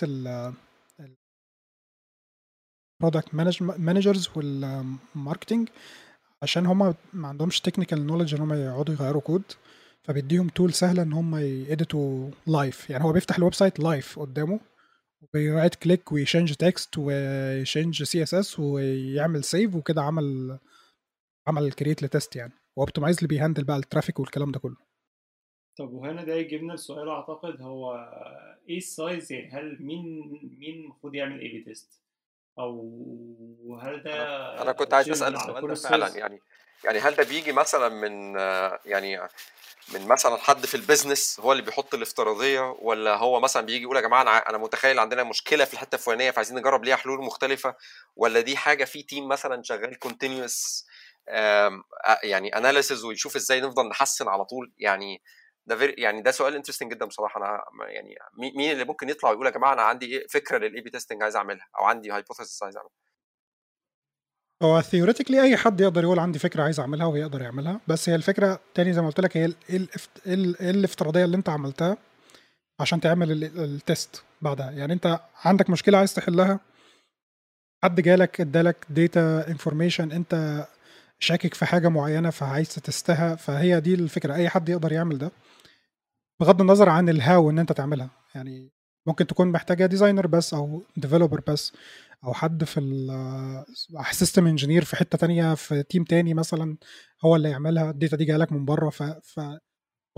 البرودكت مانجرز والماركتنج، عشان هم ما عندهمش تكنيكال نوليدج ان هم يقعدوا يغيروا كود، فبيديهم تول سهله ان هم يeditوا لايف. يعني هو بيفتح الويب سايت لايف قدامه وبيرايت كليك ويشنج تكست ويشنج سي اس اس ويعمل سيف، وكده عمل عمل كريت لتست يعني. واوبتمايز اللي بيهندل بقى الترافيك والكلام ده كله. طب وهنا ده يجيبنا السؤال، اعتقد هو ايه السايز؟ يعني هل مين مين المفروض يعمل اي بي تيست؟ او هل انا انا ده كنت عايز اسال تشيربل على السؤال كل ده فعلا. السايز؟ يعني يعني هل ده بيجي مثلا من آه، يعني من مثلا حد في البيزنس هو اللي بيحط الافتراضيه، ولا هو مثلا بيجي يقول يا جماعه انا ع- انا متخيل عندنا مشكله في الحته الفلانيه فعايزين نجرب ليها حلول مختلفه، ولا دي حاجه في تيم مثلا شغال كونتينيوس يعني اناليسز ويشوف ازاي نفضل نحسن على طول يعني؟ ده فير يعني ده سؤال انترستنج جدا بصراحه. انا ما- يعني مي- مين اللي ممكن يطلع ويقول يا جماعه انا عندي إيه فكره للاي بي تيستنج عايز اعملها، او عندي هايبوثيسيس عايز اعملها؟ هو ثيوريتيكلي اي حد يقدر يقول عندي فكره عايز اعملها ويقدر يعملها، بس هي الفكره تاني زي ما قلت لك، هي ال- ايه الافت- إيه ال- إيه الافتراضيه اللي انت عملتها عشان تعمل ال- التست بعدها. يعني انت عندك مشكله عايز تحلها، حد جالك ادالك داتا انفورميشن، انت شاكك في حاجه معينه فعايز تستها، فهي دي الفكره. اي حد يقدر يعمل ده بغض النظر عن الهاو ان انت تعملها. يعني ممكن تكون محتاجه ديزاينر بس او ديفلوبر بس، او حد في السيستم انجينير في حته تانية في تيم تاني مثلا هو اللي يعملها. الداتا دي جايه لك من بره، ف... فبغض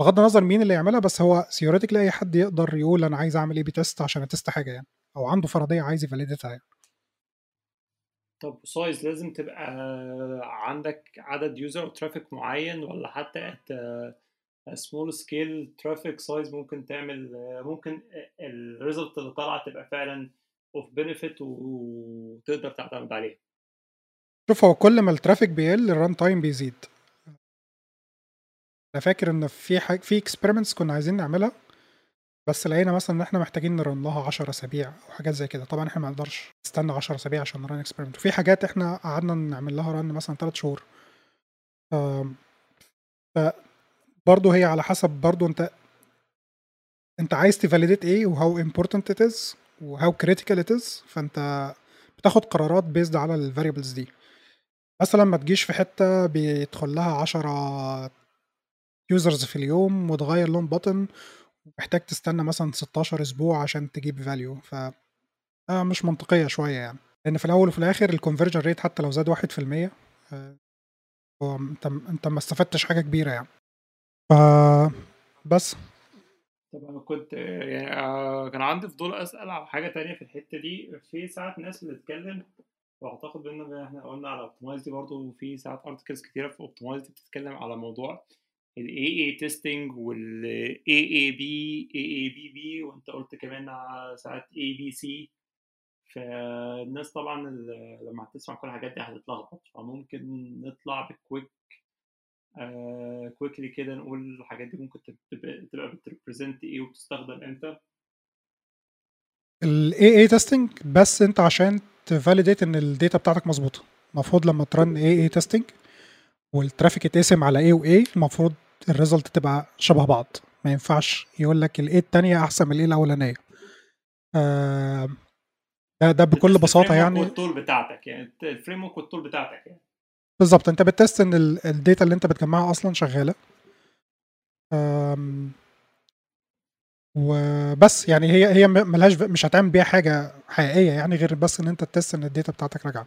بغض النظر مين اللي يعملها، بس هو theoretically اي حد يقدر يقول انا عايز اعمل اي بي تيست عشان اتست حاجه يعني، او عنده فرضيه عايز يفاليدتها يعني. طب سايز لازم تبقى عندك عدد يوزر او ترافيك معين، ولا حتى at سمول سكيل ترافيك سايز ممكن تعمل، ممكن الريزلت اللي طالعه تبقى فعلا اوف بنفيت وتقدر تعتمد عليها؟ شوف، هو كل ما الترافيك بيقل الران تايم بيزيد. انا فاكر ان في حاجه في اكسبيرمنتس كنا عايزين نعملها، بس لقينا مثلا ان احنا محتاجين نرن لها عشرة اسابيع او حاجات زي كده. طبعا احنا ما نقدرش نستنى عشرة اسابيع عشان نرن اكسبيرمنت، وفي حاجات احنا قعدنا نعمل لها رن مثلا ثلاث شهور. آم، فبرضه هي على حسب برضه انت انت عايز تفاليديت ايه وهاو امبورتنت ات از وهاو كريتيكال ات از، فانت بتاخد قرارات بيزد على الفاريبلز دي. مثلا ما تجيش في حته بيدخل لها عشرة يوزرز في اليوم وتغير لون بutton محتاج تستنى مثلا ستاشر اسبوع عشان تجيب فاليو، ف آه مش منطقيه شويه يعني. لان في الاول وفي الاخر الكونفرجن ريت حتى لو زاد واحد في المية، آه، هو انت انت ما استفدتش حاجه كبيره يعني. ف بس طب انا كنت يعني آه، كان عندي فضول اسال على حاجه تانية في الحته دي. في ساعات ناس بتتكلم، واعتقد ان احنا قلنا على اوبتمايز دي برضه، وفي ساعات ارتكلز كتيره في اوبتمايز دي بتتكلم على موضوع ال إيه إيه testing وال إيه إيه بي إيه إيه بي بي، وانت قلت كمان على ساعات إيه بي سي. فالناس طبعا ال- لما هتسمع كل الحاجات دي هتتلخبط، فممكن نطلع بكويك آه كويكلي كده نقول الحاجات دي ممكن تبقى تبقى بتريبريزنت ايه وبتستخدم امتى. ال إيه إيه testing بس انت عشان تفاليديت ان الداتا بتاعتك مظبوطه، المفروض لما ترن إيه إيه testing والترافيك يتقسم على A و A المفروض الريزلت تبقى شبه بعض. ما ينفعش يقول لك ال A التانية احسن من ال A الاولانيه. آه، ده ده بكل بتست بساطه الفريم ورك يعني. والتول بتاعتك، يعني الفريم ورك والتول بتاعتك يعني. بالظبط، انت بتست ان ال- الداتا اللي انت بتجمعها اصلا شغاله. آم، وبس يعني هي هي م- ملهاش مش هتعمل بيها حاجه حقيقيه يعني، غير بس ان انت تست ان الداتا بتاعتك راجعه.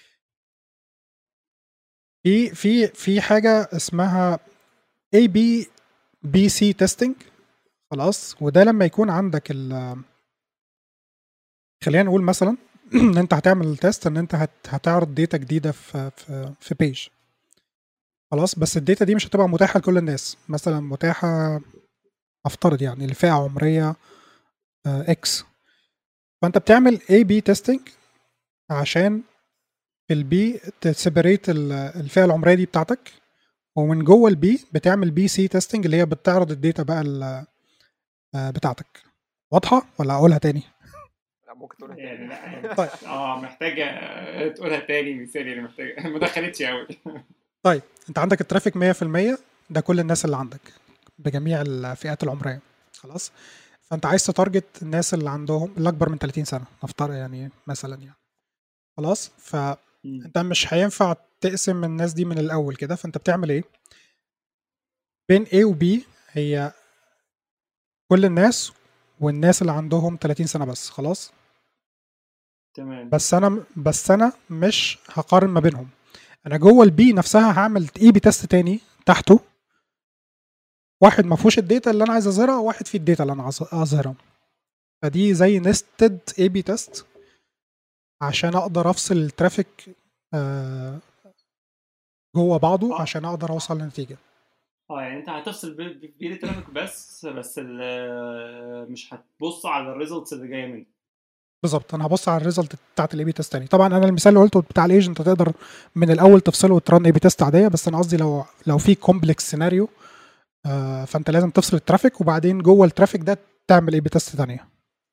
في في في حاجه اسمها A B B C testing. خلاص، وده لما يكون عندك ال خلينا نقول مثلا ان انت هتعمل تيست ان انت هت هتعرض داتا جديده في في في بيج. خلاص، بس الداتا دي مش هتبقى متاحه لكل الناس، مثلا متاحه افترض يعني لفئه عمريه اكس. فانت بتعمل A B testing عشان في البي تسيبريت الفئه العمريه دي بتاعتك، ومن جوه البي بتعمل بي سي تيستنج اللي هي بتعرض الداتا بقى ال- آه، بتاعتك. واضحه ولا اقولها تاني؟ لا ممكن تقولها يعني تاني. لا يعني طيب اه محتاجه تقولها تاني مثالي، يعني محتاجه ما دخلتش قوي. طيب انت عندك الترافيك مية في المية، ده كل الناس اللي عندك بجميع الفئات العمريه. خلاص، فانت عايز تتارجت الناس اللي عندهم اللي اكبر من ثلاثين سنه نفترض يعني مثلا يعني. خلاص، فانت مش هينفع تقسم الناس دي من الاول كده، فانت بتعمل ايه؟ بين A و B هي كل الناس والناس اللي عندهم ثلاثين سنه بس. خلاص، تمام. بس انا بس انا مش هقارن ما بينهم. انا جوه البي نفسها هعمل اي بي تيست تاني تحته، واحد ما فيهوش الداتا اللي انا عايز اظهرها وواحد فيه الداتا اللي انا عايز اظهرها. فدي زي نستد اي بي تيست عشان اقدر افصل الترافيك آه، جوه بعضه اه عشان اقدر اوصل لنتيجه. اه يعني انت هتفصل ب- ب- بين الترافيك بس بس ال- مش هتبص على الريزلتس اللي جايه منه. بالظبط، انا هبص على الريزلت بتاعت الاي بي تيست تاني. طبعا انا المثال اللي قلته بتاع الايجنت تقدر من الاول تفصله وترن اي بي تيست عاديه، بس انا قصدي لو لو في كومبلكس سيناريو آه، فانت لازم تفصل الترافيك وبعدين جوه الترافيك ده تعمل اي بي تيست تانية.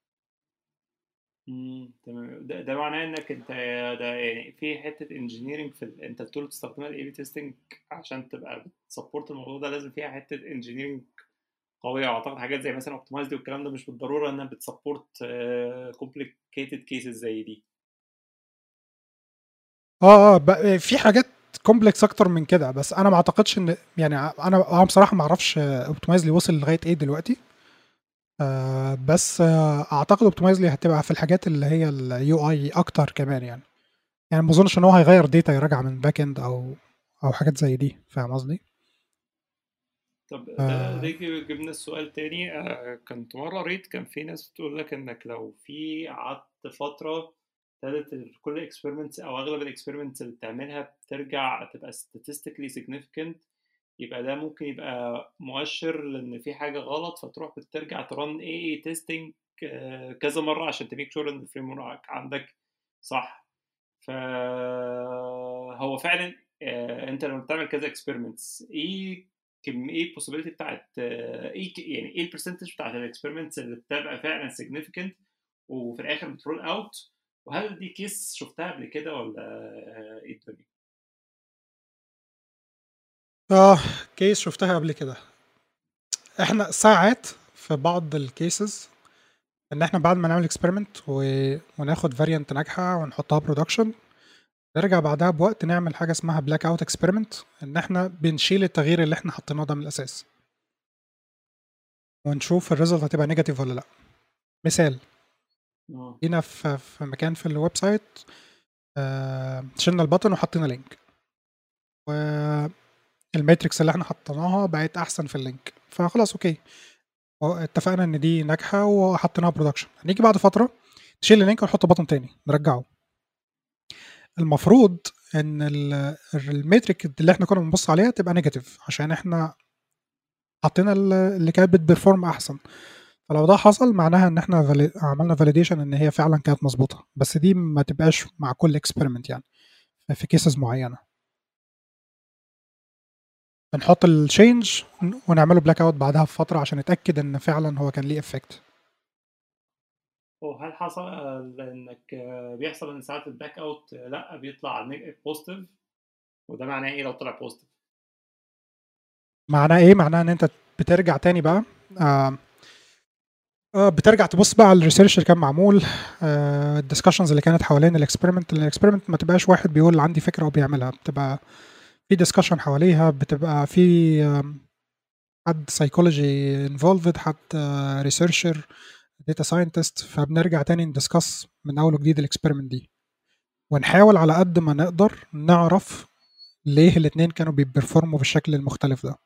امم تمام. ده, ده معناه انك انت ده يعني في حته انجينيرنج في ال... انت التول بتستخدمها الاي بي تيستنج عشان تبقى بتسبورت الموضوع ده، لازم فيها حته انجينيرنج قويه. اعتقد حاجات زي مثلا اوبتمايز دي والكلام ده مش بالضروره انها بتسبورت كومبليكيتد كيسز زي دي. اه اه بقى في حاجات كومبلكس اكتر من كده، بس انا ما اعتقدش ان يعني انا انا بصراحه ما اعرفش اوبتمايزلي وصل لغايه ايه دلوقتي. آه بس آه اعتقد اوبتمايزلي هتبقى في الحاجات اللي هي اليو اي اكتر كمان يعني. يعني ما اظنش ان هو هيغير داتا يراجع من باك اند او او حاجات زي دي، فاهم قصدي؟ طب ده آه، ده يجي- جبنا السؤال تاني. آه، كنت مرة قريت كان في ناس بتقول لك انك لو في قعدت فترة ابتدت ال- كل الاكسبيرمنتس او اغلب الاكسبيرمنتس اللي بتعملها بترجع تبقى statistically significant، يبقى ده ممكن يبقى مؤشر لان في حاجة غلط، فتروح بترجع ترن اي اي تيستنج كذا مرة عشان تميك شور ان الفريم ورك عندك صح. فهو فعلا آه، انت لما بتعمل كذا اكسبيرمنتس، ايه كم ايه البوسيبيليتي بتاعت آه، ايه ك- يعني ايه البرسنتج بتاعت الاكسبيرمنتس اللي بتبقى فعلا significant وفي الاخر بترول اوت؟ وهل دي كيس شفتها قبل كده ولا آه، ايه الدنيا؟ اه كيس شفتها قبل كده. احنا ساعات في بعض الكيسز ان احنا بعد ما نعمل اكسبيرمنت و... وناخد فاريانت ناجحه ونحطها برودكشن، نرجع بعدها بوقت نعمل حاجه اسمها بلاك اوت اكسبيرمنت، ان احنا بنشيل التغيير اللي احنا حطيناه ده من الاساس ونشوف الريزلت هتبقى نيجاتيف ولا لا. مثال، اه جينا في في مكان في الويب سايت، آه، شلنا البطن وحطينا لينك، والماتريكس اللي احنا حطيناها بقت احسن في اللينك، فخلاص اوكي، اتفقنا ان دي ناجحه وحطيناها برودكشن. هنيجي بعد فتره نشيل اللينك ونحط بطن تاني نرجعه. المفروض ان ال- الميتريك اللي احنا كنا بنبص عليها تبقى نيجاتيف عشان احنا حطينا ال- اللي كانت بتبرفورم احسن. فلو ده حصل معناها ان احنا فالي... عملنا فاليديشن ان هي فعلا كانت مظبوطه، بس دي ما تبقاش مع كل اكسبيرمنت يعني، في كيسز معينه بنحط التشينج ونعمله بلاك اوت بعدها بفتره عشان نتاكد ان فعلا هو كان ليه افكت. وهل حصل آه، انك آه، بيحصل ان ساعات الباك اوت آه، لا بيطلع بوزيتيف؟ وده معناه ايه لو طلع بوزيتيف؟ معناه ايه؟ معناه ان انت بترجع تاني بقى، آه آه، بترجع تبص بقى على الريسيرش اللي كان معمول، الدسكشنز اللي كانت حوالين الاكسبيرمنت. الاكسبيرمنت ما تبقاش واحد بيقول عندي فكره وبيعملها، بتبقى في ديسكشن حواليها، بتبقى في آم، حد سايكولوجي انفولفد، حد ريسيرشر، داتا ساينتست، فبنرجع تاني ندسكس من اول وجديد الاكسبيرمنت دي، ونحاول على قد ما نقدر نعرف ليه الاتنين كانوا بيبرفورموا بالشكل المختلف ده.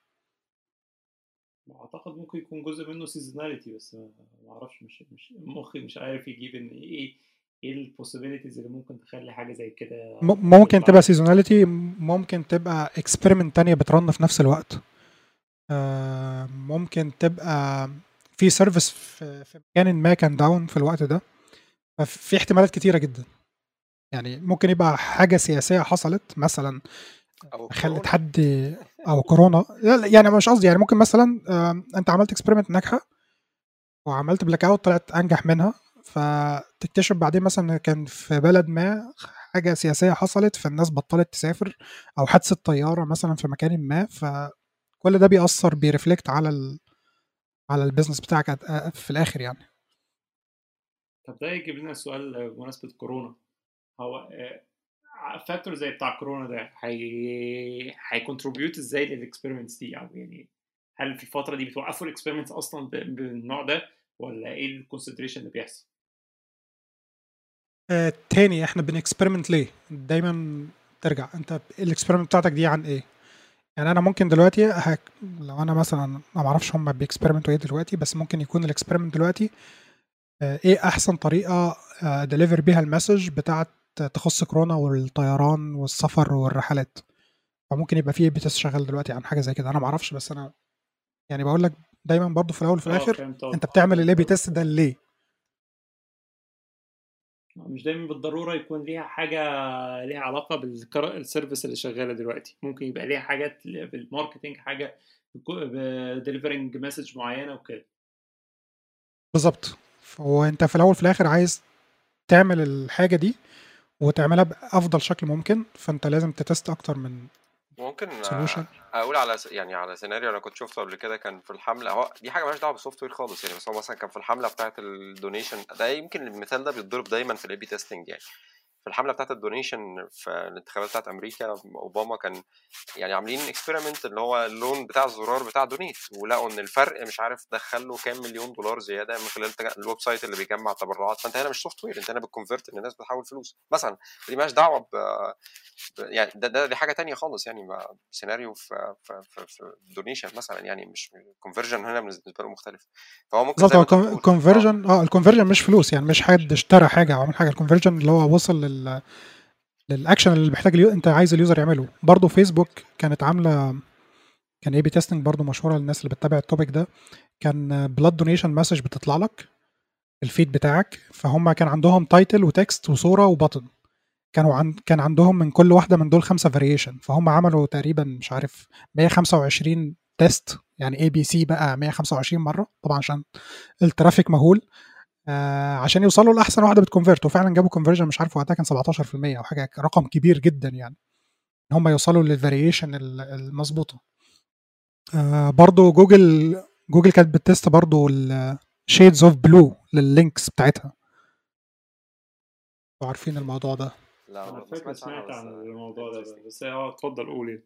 اعتقد ممكن يكون جزء منه سيزوناليتي، بس ما ما اعرفش، مش مش مخي مش عارف يجيب ان ايه ايه البوسيبيليتيز اللي ممكن تخلي حاجه زي كده م- ممكن تطلع تبقى نيجاتيف. سيزوناليتي، ممكن تبقى اكسبيرمنت تانية بترن في نفس الوقت، آه، ممكن تبقى في سيرفيس في في مكان ما كان داون في الوقت ده. ففي احتمالات كتيرة جدا، يعني ممكن يبقى حاجة سياسية حصلت مثلا او خلت كورونا. حد، او كورونا. لا، لا، يعني مش قصدي، يعني ممكن مثلا آه، انت عملت اكسبيرمنت ناجحة وعملت بلاك اوت طلعت انجح منها، فتكتشف بعدين مثلا إن كان في بلد ما حاجة سياسية حصلت فالناس بطلت تسافر، او حادثة طيارة مثلا في مكان ما، فكل ده بيأثر بيرفلكت على ال على البيزنس بتاعك أت- في الاخر يعني. طب ده يجيب لنا سؤال آه، بمناسبه كورونا. هو فاكتور زي بتاع كورونا ده هي هيكونتريبيوت ازاي للاكسبيرمنتس دي؟ او يعني هل في الفتره دي بتوقفوا الاكسبيرمنتس اصلا ب- بالنوع ده، ولا ايه الكونسنتريشن اللي بيحصل؟ آه تاني، احنا بنكسبيرمنت ليه؟ دايما ترجع انت الاكسبيرمنت بتاعتك دي عن ايه؟ يعني انا ممكن دلوقتي هك... لو انا مثلا ما معرفش هم بيكسبيرمنتوا ايه دلوقتي، بس ممكن يكون الاكسبيرمنت دلوقتي آه ايه احسن طريقه ديليفر بيها المسج بتاعت تخص كورونا والطيران والسفر والرحلات. فممكن يبقى في اي بي تيست شغال دلوقتي عن حاجه زي كده، انا ما اعرفش، بس انا يعني بقول لك دايما برضو في الاول وفي اه الاخر فهمت انت قصدك بتعمل فهمت الاي بي قصدك تيست ده ليه. مش دايما بالضروره يكون ليها حاجه ليها علاقه بالسيرفيس اللي شغاله دلوقتي، ممكن يبقى ليها حاجات بالماركتينج، حاجه بديليفرنج مسج معينه وكده. بالظبط. هو انت في الاول وفي الاخر عايز تعمل الحاجه دي وتعملها بافضل شكل ممكن، فانت لازم تتست اكتر من ممكن آه، سولوشن. اقول على س- يعني على سيناريو انا كنت شفته قبل كده، كان في الحمله، هو دي حاجه مالهاش دعوه بالسوفت وير خالص يعني، بس هو مثلا كان في الحمله بتاعه الدونيشن ده، يمكن المثال ده بيتضرب دايما في الاي بي تيستنج يعني. في الحمله بتاعه الدونيشن في الانتخابات بتاعه امريكا، اوباما كان يعني عاملين اكسبيرمنت اللي هو اللون بتاع الزرار بتاع دونيت، ولقوا ان الفرق مش عارف دخل له كام مليون دولار زياده من خلال الويب سايت اللي بيجمع تبرعات. فانت هنا مش سوفت وير، انت هنا بتكونفرت ان الناس بتحول فلوس مثلا، دي مالهاش دعوه ب يعني ده, ده دي حاجه تانية خالص، يعني ما سيناريو في في في, في دونيشن مثلا، يعني مش الكونفرجن هنا بالنسبه له مختلف. فهو ممكن بالظبط، زي هو ما انت بتقول الكونفرجن اه الكونفرجن مش فلوس، يعني مش حد اشترى حاجه او عمل حاجه. الكونفرجن اللي هو وصل لل للاكشن اللي محتاج اليو... انت عايز اليوزر يعمله. برضه فيسبوك كانت عامله، كان اي بي تيستنج برضه مشهوره للناس اللي بتتابع التوبيك ده. كان بلاد دونيشن مسج بتطلع لك الفيد بتاعك، فهم كان عندهم تايتل وتكست وصوره وبطن. كانوا عن... كان عندهم من كل واحده من دول خمسه فاريشن، فهم عملوا تقريبا مش عارف مية وخمسة وعشرين تيست، يعني اي بي سي بقى مية وخمسة وعشرين مره طبعا عشان الترافيك مهول، آه عشان يوصلوا لاحسن واحده بتكونفيرت. وفعلا جابوا كونفرجن مش عارف وقتها كان سبعتاشر في المية او حاجه، رقم كبير جدا يعني ان هم يوصلوا للفاريشن المظبوطه. آه برضو جوجل جوجل كانت بتست برضو الشيدز اوف بلو لللينكس بتاعتها، لو عارفين الموضوع ده. لا انا ما فاكر سمعتش عنها سمعت بس عن الموضوع ده interesting. بس اه اتفضل قولي.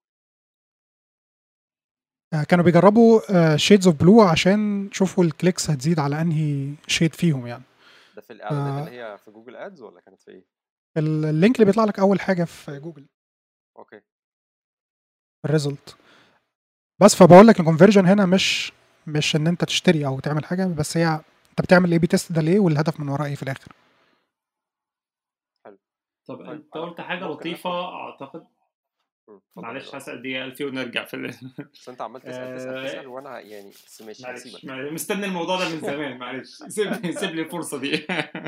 آه كانوا بيجربوا شيدز اوف بلو عشان يشوفوا الكليكس هتزيد على انهي شيد فيهم يعني. ده في الاعلانات اللي هي في جوجل ادز ولا كانت في ايه؟ اللينك اللي بيطلع لك اول حاجه في جوجل اوكي الريزلت. بس فبقول لك الكونفرجن هنا مش مش ان انت تشتري او تعمل حاجه، بس هي انت بتعمل الاي بي تيست ده ليه والهدف من وراه ايه في الاخر. حلو. طب طيب انت انا قلت حاجه ممكن لطيفه ناخد اعتقد. مم، اتفضل يا معلش جماعه. هسأل دقيقة ألفي ونرجع في ال... بس انت عمال تسال تسال آه، تسال وانا يعني بس ماشي معلش هسيبك. معلش، مستني الموضوع ده من زمان، معلش سيب سيب لي الفرصة دي.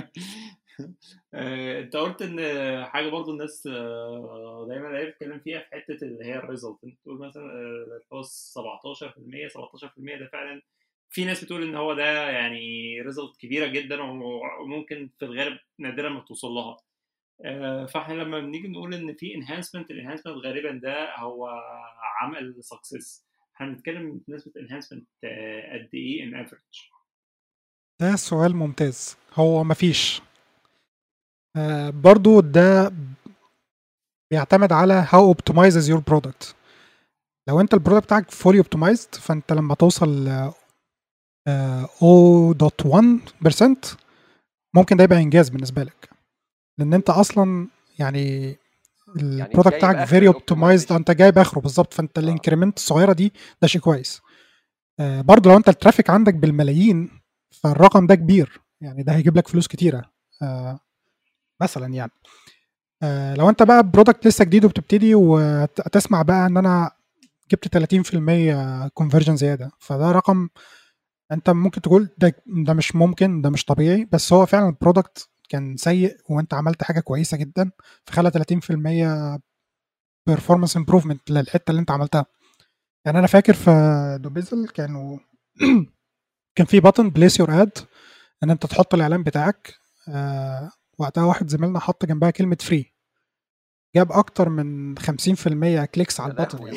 آه، انت قلت ان حاجة برضو الناس آه، دايما هي بتتكلم فيها في حتة اللي هي الريزلت. انت تقول مثلا آه، اللي هو سبعتاشر في المية سبعتاشر في المية ده فعلا في ناس بتقول ان هو ده يعني ريزلت كبيرة جدا وممكن في الغالب نادرا ما توصل لها. آه، فاحنا لما بنيجي نقول ان في انهانسمنت، الانهانسمنت غالبا ده هو عمل سكسس. هنتكلم بنسبه انهانسمنت قد ايه ان افريج؟ ده سؤال ممتاز. هو مفيش آه برضو ده بيعتمد على how optimizes your product. لو انت البرودكت بتاعك fully optimized فانت لما توصل آه صفر فاصلة واحد بالمية ممكن ده يبقى انجاز بالنسبه لك، لان انت اصلا يعني يعني البرودكت جايب بتاعك اخر فيري اوبتمايزد، الاوبتمايزيشن. انت جايب اخره بالظبط، فانت اه الانكريمنت الصغيره دي ده شيء كويس. آه برضو لو انت الترافيك عندك بالملايين فالرقم ده كبير، يعني ده هيجيب لك فلوس كتيره. آه مثلا يعني آه لو انت بقى برودكت لسه جديد وبتبتدي وتسمع بقى ان انا جبت تلاتين في المية كونفرجن زياده، فده رقم انت ممكن تقول ده ده مش ممكن، ده مش طبيعي، بس هو فعلا البرودكت كان سيء وانت عملت حاجه كويسه جدا فخلى تلاتين في المية بيرفورمانس امبروفمنت للحته اللي انت عملتها. يعني انا فاكر في دوبيزل كانوا كان في بutton بليس يور اد ان انت تحط الاعلان بتاعك. آه وقتها واحد زميلنا حط جنبها كلمه فري، جاب اكتر من خمسين في المية كليكس على يا البطن لهوي. يعني.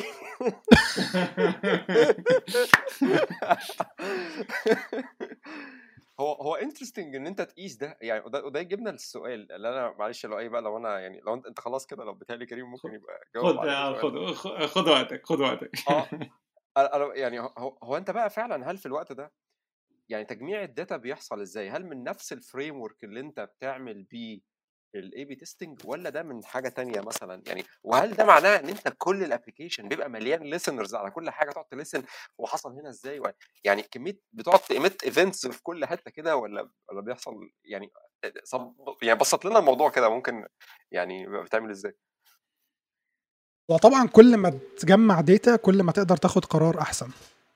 هو هو انترستنج ان انت تقيس ده يعني، وده وده يجيبنا للسؤال اللي انا معلش لو اي بقى لو انا يعني لو انت, انت خلاص كده لو بتهيألي كريم ممكن يبقى جاوب خد على السؤال ده. خد خد خد وقتك خد وقتك. اه أنا- أنا يعني هو, هو انت بقى فعلا هل في الوقت ده يعني تجميع الداتا بيحصل ازاي؟ هل من نفس الفريم ورك اللي انت بتعمل بيه الاي بي تيستنج ولا ده من حاجه تانية مثلا يعني؟ وهل ده معناه ان انت كل الابلكيشن بيبقى مليان ليسنرز على كل حاجه تقعد تلسن وحصل هنا ازاي يعني كميه بتقعد تيميت ايفنتس في كل حته كده ولا ولا بيحصل يعني صب يعني بسط لنا الموضوع كده ممكن يعني بيبقى بتعمل ازاي؟ وطبعا كل ما تجمع داتا كل ما تقدر تاخد قرار احسن.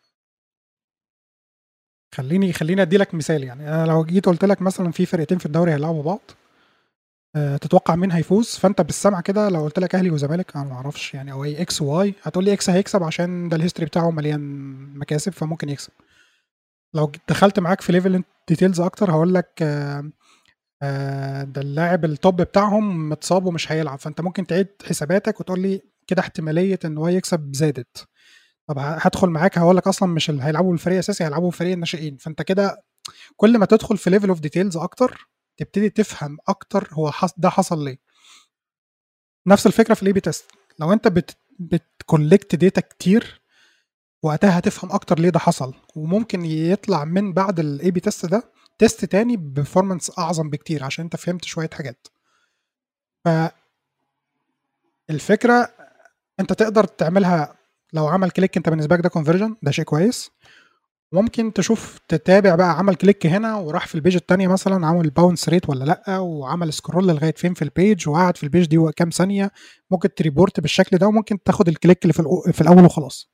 خليني خليني ادي لك مثال. يعني انا لو جيت قلت لك مثلا في فرقتين في الدوري هيلعبوا بعض، أه تتوقع مين هيفوز؟ فانت بالسمع كده لو قلت لك اهلي وزمالك انا ما اعرفش يعني او اي اكس واي هتقول لي اكس هيكسب عشان ده الهيستوري بتاعه مليان مكاسب فممكن يكسب. لو دخلت معاك في ليفل ديتيلز اكتر هقول لك أه أه ده اللاعب التوب بتاعهم متصاب ومش هيلعب، فانت ممكن تعيد حساباتك وتقول لي كده احتماليه ان هو يكسب زادت. طب هادخل معاك هاقول لك أصلًا مش اللي هيلعبوا بالفريق الأساسي، هيلعبوا بفريق الناشئين، فأنت كده كل ما تدخل في level of details أكتر، تبتدي تفهم اكتر هو حص... ده حصل ليه. نفس الفكره في الاي بي تيست، لو انت بت بتكولكت داتا كتير وقتها هتفهم اكتر ليه ده حصل، وممكن يطلع من بعد الاي بي تيست ده تيست تاني بفورمانس اعظم بكتير عشان انت فهمت شويه حاجات. فالفكره انت تقدر تعملها لو عمل كليك انت بالنسبه لك ده كونفرجن، ده شيء كويس. ممكن تشوف تتابع بقى عمل كليك هنا وراح في البيج التانية مثلا عمل باونس ريت ولا لا، وعمل سكرول لغايه فين في البيج وقعد في البيج دي كام ثانيه. ممكن تريبورت بالشكل ده، وممكن تاخد الكليك اللي في, الأو... في الاول وخلاص.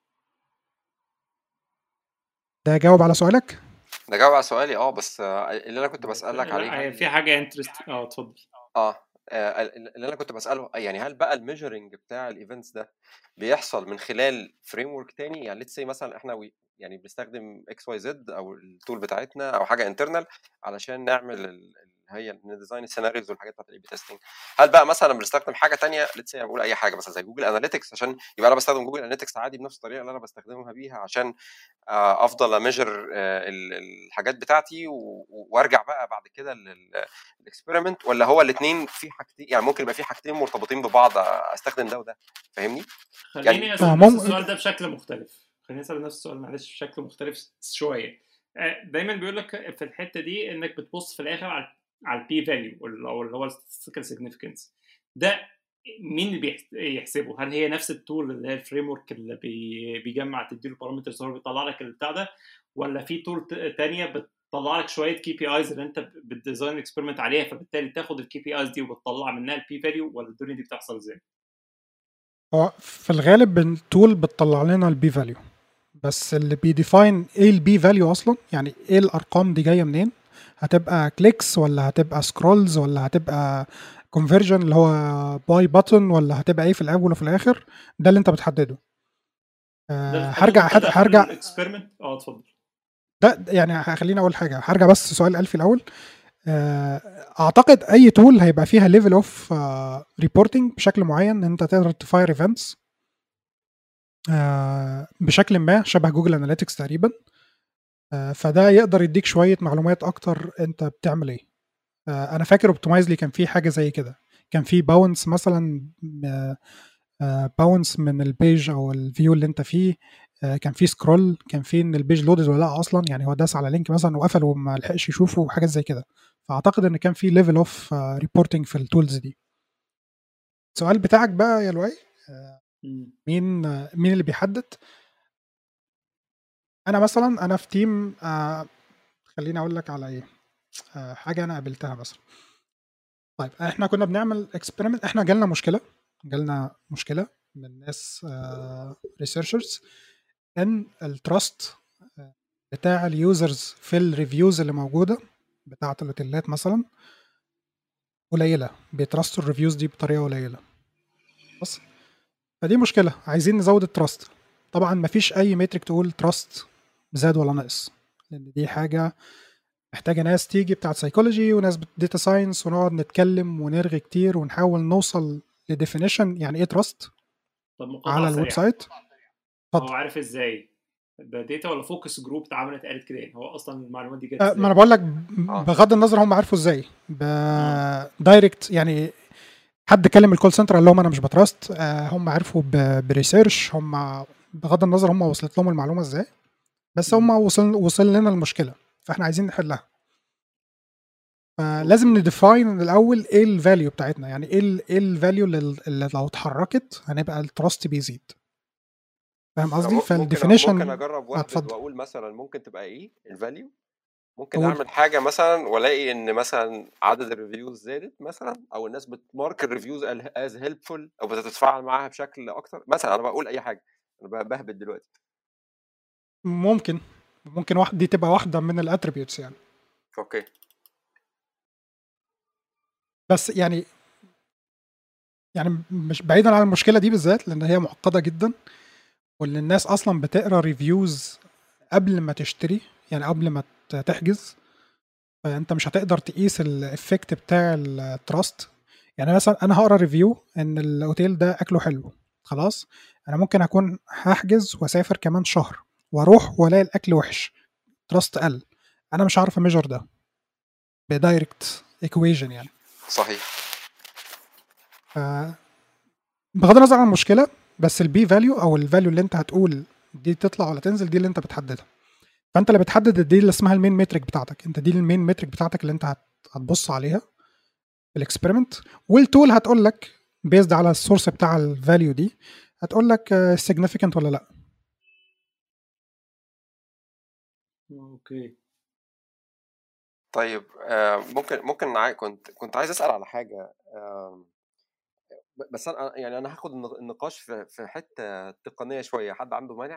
ده جاوب على سؤالك؟ ده جاوب على سؤالي. اه بس آه، اللي انا كنت بس بسالك عليه، لا هي هل في حاجه انترست. اه اتفضل. اه آه، اللي انا كنت بساله يعني هل بقى الميجرنج بتاع الايفنتس ده بيحصل من خلال فريم ورك تاني؟ يعني ليتس سي مثلا احنا وي- يعني بنستخدم اكس واي زد او التول بتاعتنا او حاجه انترنال علشان نعمل ال- ال- هي نديزاين السيناريوز والحاجات بتاعت الاي بي تيستنج. هل بقى مثلا بنستخدم حاجه تانية، ليتس سي بقول اي حاجه مثلا زي جوجل اناليتكس، عشان يبقى انا بستخدم جوجل اناليتكس عادي بنفس الطريقه اللي انا بستخدمها بيها عشان آه، افضل اميجر الحاجات بتاعتي و- وارجع بقى بعد كده للاكسبيرمنت؟ ولا هو الاثنين في حاجتين، يعني ممكن يبقى في حاجتين مرتبطين ببعض استخدم ده وده؟ فاهمني؟ يعني خليني آه، اسال نفس مم... السؤال ده بشكل مختلف. خليني اسال نفس السؤال معلش بشكل مختلف شويه. آه، دايما بيقول لك في الحته دي انك بتبص في الاخر على على البي فاليو او اللي هو الستاتستيكال سيجنيفيكانس. ده مين اللي بيحس- يحسبه؟ هل هي نفس التول اللي هي الفريم ورك اللي بي- بيجمع تديله بارامترز هو بيطلع لك البتاع ده، ولا في تول تانية بتطلع لك شويه كي بي ايز اللي انت بتديزاين اكسبيرمنت عليها، فبالتالي تاخد الكي بي ايز دي وبتطلع منها البي فاليو؟ ولا الدنيا دي بتحصل ازاي؟ هو في الغالب التول بتطلع لنا البي فاليو، بس اللي بيديفاين ايه البي فاليو اصلا، يعني ايه الارقام دي جايه منين، هتبقى كليكس ولا هتبقى سكرولز ولا هتبقى كونفرجن اللي هو باي بutton ولا هتبقى ايه في الاول وفي الاخر، ده اللي انت بتحدده. ده أه بتحدده هرجع انت داخل هرجع الاكسبيرمنت. اه اتفضل. ده يعني هخليني اقول حاجه، هرجع بس سؤال ألفي الاول. أه اعتقد اي تول هيبقى فيها ليفل اوف ريبورتنج بشكل معين ان انت تقدر تفاير ايفنتس أه بشكل ما شبه جوجل اناليتكس تقريبا. أه فده يقدر يديك شويه معلومات اكتر انت بتعمل ايه. أه انا فاكر اوبتمايزلي كان في حاجه زي كده، كان في باونس مثلا، باونس من البيج او الفيو اللي انت فيه. آه، كان في سكرول، كان في ان البيج لودد ولا لا اصلا، يعني هو داس على لينك مثلا وقفل وما لحقش يشوفه وحاجات زي كده. فاعتقد ان كان في ليفل اوف ريبورتنج في التولز دي. السؤال بتاعك بقى يا لؤي، آه، مم. مين آه، مين اللي بيحدد؟ انا مثلا انا في تيم، آه، خليني اقول لك على ايه، آه، حاجه انا قابلتها مثلا. طيب احنا كنا بنعمل اكسبيرمنت، احنا جالنا مشكله جالنا مشكله من ناس ريسيرشرز ان التراست بتاع اليوزرز في الريفيوز اللي موجوده بتاعه الاوتيلات مثلا قليله، بيترستوا الريفيوز دي بطريقه قليله. بس فدي مشكله، عايزين نزود التراست. طبعا مفيش اي مترك تقول تراست زاد ولا نقص، لان دي حاجه محتاجه ناس تيجي بتاعه سايكولوجي وناس داتا ساينس، ونقعد نتكلم ونرغي كتير ونحاول نوصل لديفينيشن يعني ايه تراست طب على مقاطعه الويب سريعه. سايت. هو اتفضل. عارف ازاي ده داتا ولا فوكس جروب اتعملت قالت كده؟ يعني هو اصلا المعلومات دي جت أه، ما انا ازاي؟ بقول لك اه بغض النظر هم عارفوا ازاي اه بدايركت، يعني حد كلم الكول سنتر قال لهم انا مش بتراست، آه، هم عرفوا ب- بريسيرش، هم بغض النظر هم وصلت لهم المعلومه ازاي، بس هم مم. وصل وصل لنا المشكله، فاحنا عايزين نحلها. فلازم اوكي. نديفاين الاول ايه الفاليو بتاعتنا، يعني ايه ال ايه الفاليو اللي اللي لو اتحركت هنبقى التراست بيزيد. فاهم أنا قصدي؟ م- ممكن أ- ممكن فالديفينيشن. اجرب واهبد اتفضل. واقول مثلا ممكن تبقى ايه الفاليو. ممكن قول. اعمل حاجه مثلا والاقي ان مثلا عدد الريفيوز زادت مثلا، او الناس بتمارك الريفيوز از هيلبفول او بتتفاعل معاها بشكل اكتر مثلا. انا بقول اي حاجه، انا ب- بهبد دلوقتي. ممكن ممكن واحد دي تبقى واحده من الاتريبيوتس يعني. اوكي. بس يعني يعني مش بعيدا عن المشكله دي بالذات لان هي معقده جدا، وان الناس اصلا بتقرا ريفيوز قبل ما تشتري، يعني قبل ما ت- تحجز. فانت مش هتقدر تقيس الافكت بتاع التراست. يعني مثلا انا هقرا ريفيو ان الاوتيل ده اكله حلو، خلاص انا ممكن اكون هحجز واسافر كمان شهر واروح والاقي الاكل وحش، تراست قل، انا مش عارف اميجر ده. بدايركت ايكويشن يعني. صحيح. ف بغض النظر عن المشكله، بس البي فاليو او الفاليو اللي انت هتقول دي تطلع ولا تنزل دي اللي انت بتحددها. فانت اللي بتحدد دي اللي اسمها المين مترك بتاعتك. انت دي المين مترك بتاعتك اللي انت هتبص عليها في الاكسبيرمنت، والتول هتقول لك بيزد على السورس بتاع الفاليو دي، هتقول لك significant ولا لا. اوكي طيب آه ممكن ممكن عاي... كنت كنت عايز اسال على حاجه، آه بس انا يعني انا هاخد النقاش في في حته تقنيه شويه. حد عنده مانع؟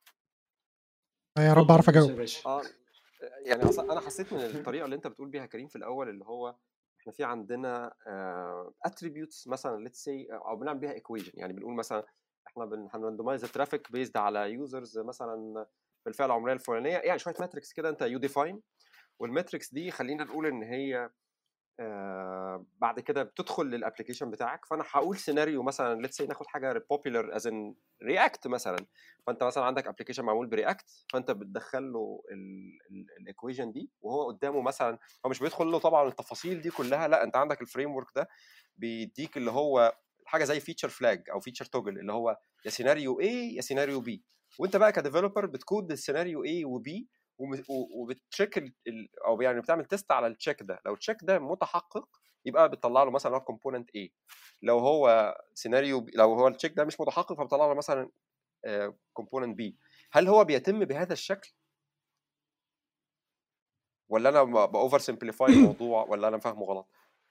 يا رب اعرف اجاوب. اه يعني اصلا انا حسيت من الطريقه اللي انت بتقول بيها كريم في الاول، اللي هو احنا في عندنا اتريبيوتس مثلا ليتس سي، او بنعمل بيها ايكويشن. يعني بنقول مثلا احنا بنراندمايز الترافيك بيزد على يوزرز مثلا في الفئه العمريه الفلانيه، يعني شويه ماتريكس كده انت يو ديفاين. والماتريكس دي خلينا نقول ان هي آه بعد كده بتدخل للابلكيشن بتاعك. فانا هقول سيناريو مثلا ليتس سي، ناخد حاجه بوبيلر از ان رياكت مثلا. فانت مثلا عندك ابلكيشن معمول برياكت، فانت بتدخل له الايكويشن دي وهو قدامه مثلا. هو مش بيدخل له طبعا التفاصيل دي كلها، لا انت عندك الفريم ورك ده بيديك اللي هو حاجه زي فيتشر فلاج او فيتشر توجل، اللي هو يا سيناريو A يا سيناريو B. وانت بقى كديفلوبر بتكود السيناريو A وB وبتشيك ال... او يعني بتعمل تيست على التشيك ده. لو التشيك ده متحقق يبقى بتطلع له مثلا كومبوننت A. لو هو سيناريو B، لو هو التشيك ده مش متحقق فبتطلع له مثلا كومبوننت B. هل هو بيتم بهذا الشكل ولا انا باوفر سمبليفاي الموضوع ولا انا فاهمه غلط؟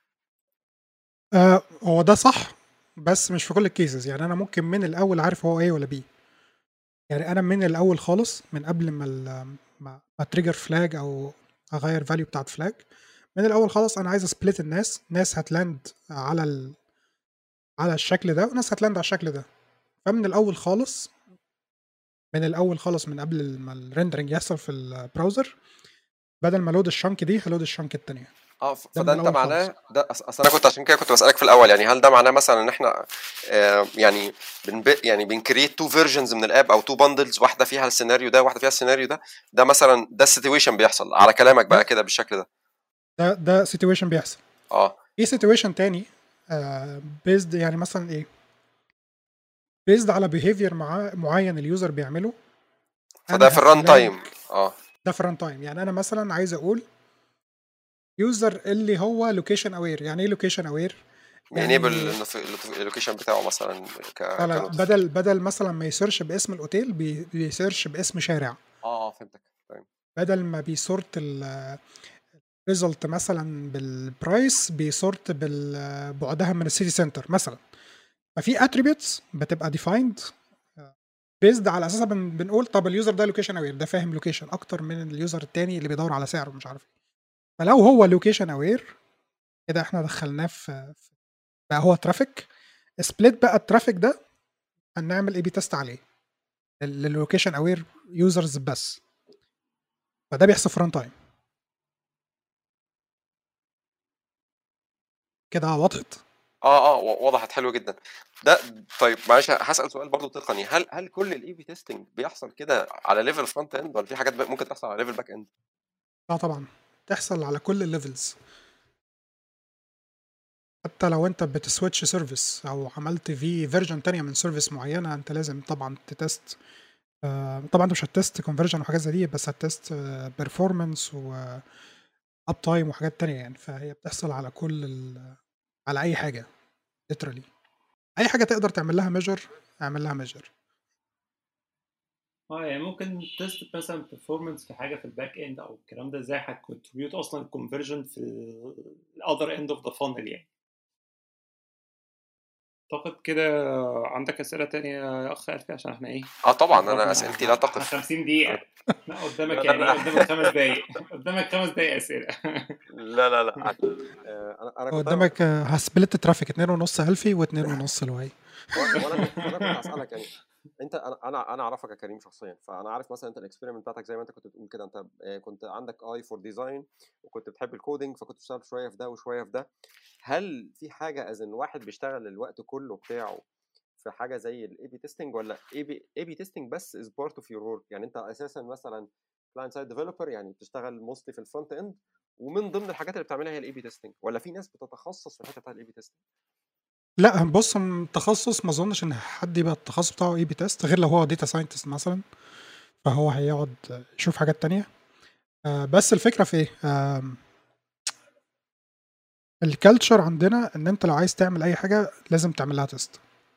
آه هو ده صح، بس مش في كل الكيسز. يعني انا ممكن من الاول عارف هو ايه ولا بي. يعني انا من الاول خالص، من قبل ما ما تريجر فلاج او اغير فاليو بتاعت فلاج، من الاول خالص انا عايز اسبليت الناس. ناس هتلاند على ال... على الشكل ده، وناس هتلاند على الشكل ده. فمن الاول خالص من الاول خالص من قبل ما الريندرنج يحصل في البراوزر، بدل ما لود الشنك دي هلود الشنك التانية. اه ده من فده انت الاول خالص. معناه ده أص- اصل انا كنت عشان كده كنت بسالك في الاول، يعني هل ده معناه مثلا ان احنا آه يعني بن يعني بنكريت تو فيرجنز من الاب او تو باندلز، واحده فيها السيناريو ده واحده فيها السيناريو ده. ده مثلا ده السيتويشن بيحصل على كلامك بقى كده بالشكل ده؟ ده ده سيتويشن بيحصل. اه في سيتويشن تاني بيزد، يعني مثلا ايه، بيزد على بيهيفير مع معين اليوزر بيعمله. فده انا في الران هفلاج تايم. اه ده في الران تايم. يعني انا مثلا عايز اقول يوزر اللي هو لوكيشن اوير. يعني ايه لوكيشن اوير؟ بينيبل يعني اللوكيشن بتاعه مثلا ك لا لا كنوتيف. بدل بدل مثلا ما يسيرش باسم الاوتيل، بي- بيسيرش باسم شارع. اه اه فهمتك. طيب بدل ما بيسورت الريزلت مثلا بالبرايس، بيسورت بعدها من السيتي سنتر مثلا. ففي اتريبيوتس بتبقى ديفايند بيزد على اساسها. بن بنقول طب اليوزر ده لوكيشن اوير، ده فاهم لوكيشن اكتر من اليوزر التاني اللي بيدور على سعر ومش عارف ايه. فلو هو لوكيشن اوير كده احنا دخلناه في في- بقى هو ترافيك. سبليت بقى الترافيك ده هنعمل اي بي تيست عليه للوكيشن اوير يوزرز بس. فده بيحصل في ران تايم. كده وضحت. اه اه و- وضحت حلو جدا ده. طيب معلش هسال سؤال برضو تقني. هل هل كل الاي بي تيستنج بيحصل كده على ليفل فرونت اند ولا في حاجات ممكن تحصل على ليفل باك اند؟ اه طبعا تحصل على كل الليفلز. حتى لو انت بتسويتش سيرفيس او عملت في فيرجن تانية من سيرفيس معينه، انت لازم طبعا تتست. آه، طبعا انت مش هتست كونفرجن وحاجات زي دي، بس هتست بيرفورمانس و اب تايم وحاجات تانية. يعني فهي بتحصل على كل ال... على اي حاجه literally. اي حاجه تقدر تعمل لها ميجر اعمل لها ميجر. اه يعني ممكن تيست مثلا performance في حاجه في الباك اند او الكلام ده، ازاي هتكونتريبيوت اصلا الكونفرجن في الاذر اند اوف ذا فانل يعني. اعتقد كده. عندك اسئله تانية يا اخ الفي؟ عشان احنا ايه اه طبعا انا قربنا، اسئلتي لا احنا تقف. خمسين دقيقه. أنا... لا لا قدامك لا يعني ايه، لا قدامك خمس دقايق قدامك خمس دقايق اسئله. لا لا لا عشان آه، انا انا كنت انا قدامك آه، هسبلت ترافيك اتنين ونص هيلفي واتنين ونص لواي. وانا كنت انا كنت هسالك يعني. انت انا انا انا اعرفك يا كريم شخصيا، فانا عارف مثلا انت الاكسبيرمنت بتاعتك زي ما انت كنت بتقول كده. انت آه، كنت عندك اي فور ديزاين وكنت بتحب الكودينج، فكنت بتشتغل شويه في ده وشويه في ده. هل في حاجه از ان واحد بيشتغل الوقت كله بتاعه في حاجه زي الاي بي تيستنج، ولا اي بي اي بي تيستنج بس از بارت اوف يور ورك؟ يعني انت اساسا مثلا كلاينت سايد ديفلوبر، يعني بتشتغل موستلي في الفرونت اند ومن ضمن الحاجات اللي بتعملها هي الاي بي تيستنج، ولا في ناس بتتخصص في الحته بتاعت الاي بي تيستنج؟ لا بص، م- تخصص ما اظنش ان حد يبقى التخصص بتاعه اي بي تيست غير لو هو داتا ساينتست مثلا، فهو هيقعد يشوف حاجات تانية. آه، بس الفكرة في ايه؟ آم، الكالتشر عندنا ان انت لو عايز تعمل اي حاجة لازم تعمل لها تيست.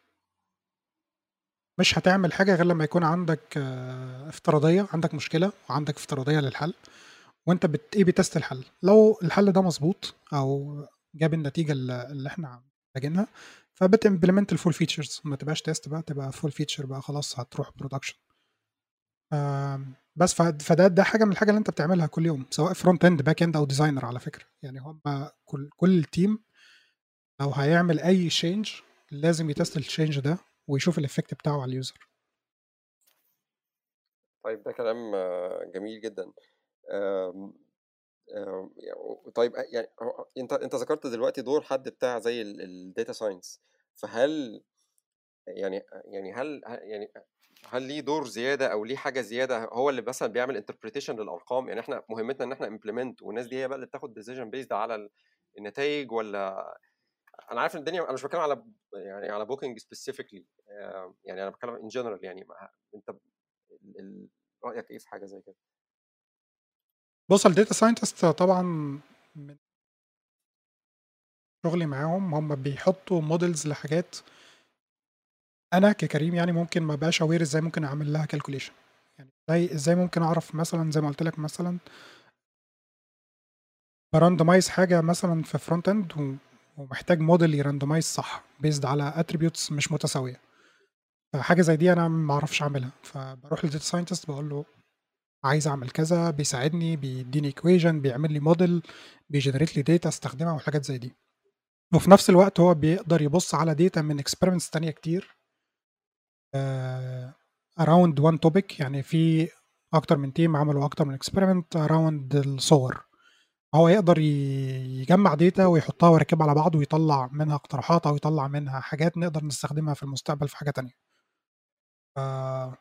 مش هتعمل حاجة غير لما يكون عندك آه، افتراضية، عندك مشكلة وعندك افتراضية للحل، وانت بت ايه بتست الحل. لو الحل ده مظبوط او جاب النتيجة اللي اللي احنا محتاجينها، فبتمبلمنت الفول فيتشرز، ما تبقاش تيست بقى، تبقى فول فيتشر بقى، خلاص هتروح برودكشن. بس ف- فده ده حاجة من الحاجة اللي انت بتعملها كل يوم، سواء فرونت اند باك اند او ديزاينر على فكرة. يعني هم كل كل تيم لو هيعمل اي تشينج لازم يتست التشينج ده ويشوف الافكت بتاعه على اليوزر. طيب ده كلام آه، جميل جدا. آم، آم، يعني- طيب يعني هو- انت انت ذكرت دلوقتي دور حد بتاع زي الداتا ساينس، فهل يعني يعني هل ه- يعني هل ليه دور زياده او ليه حاجه زياده، هو اللي مثلا بيعمل انتربريتيشن للارقام؟ يعني احنا مهمتنا ان احنا امبلمنت، والناس دي هي بقى اللي بتاخد ديسيجن بيزد على النتائج؟ ولا انا عارف ان الدنيا، انا مش بتكلم على يعني على بوكينج سبيسيفيكلي، يعني انا بتكلم ان جنرال، يعني ما- انت ال- ال- رايك ايه في حاجه زي كده؟ بص، الداتا ساينتست طبعا من شغلي معاهم هم بيحطوا موديلز لحاجات انا ككريم يعني ممكن ما بقاش اوير ازاي ممكن اعمل لها كالكوليشن. يعني ازاي ازاي ممكن اعرف مثلا زي ما قلت لك مثلا براندمايز حاجه مثلا في فرونت اند، ومحتاج موديل يراندمايز صح بيزد على اتريبيوتس مش متساويه. فحاجه زي دي انا ما اعرفش اعملها، فبروح للداتا ساينتست بقول له عايز اعمل كذا، بيساعدني، بيديني ايكويشن، بيعمل لي موديل، بيجنريت لي داتا استخدمها وحاجات زي دي. وفي نفس الوقت هو بيقدر يبص على داتا من اكسبيرمنتس تانية كتير اراوند وان توبيك. يعني في اكتر من تيم عملوا اكتر من اكسبيرمنت اراوند الصور، هو يقدر ي- يجمع داتا ويحطها ويركبها على بعض ويطلع منها اقتراحات او يطلع منها حاجات نقدر نستخدمها في المستقبل في حاجة تانية. ف...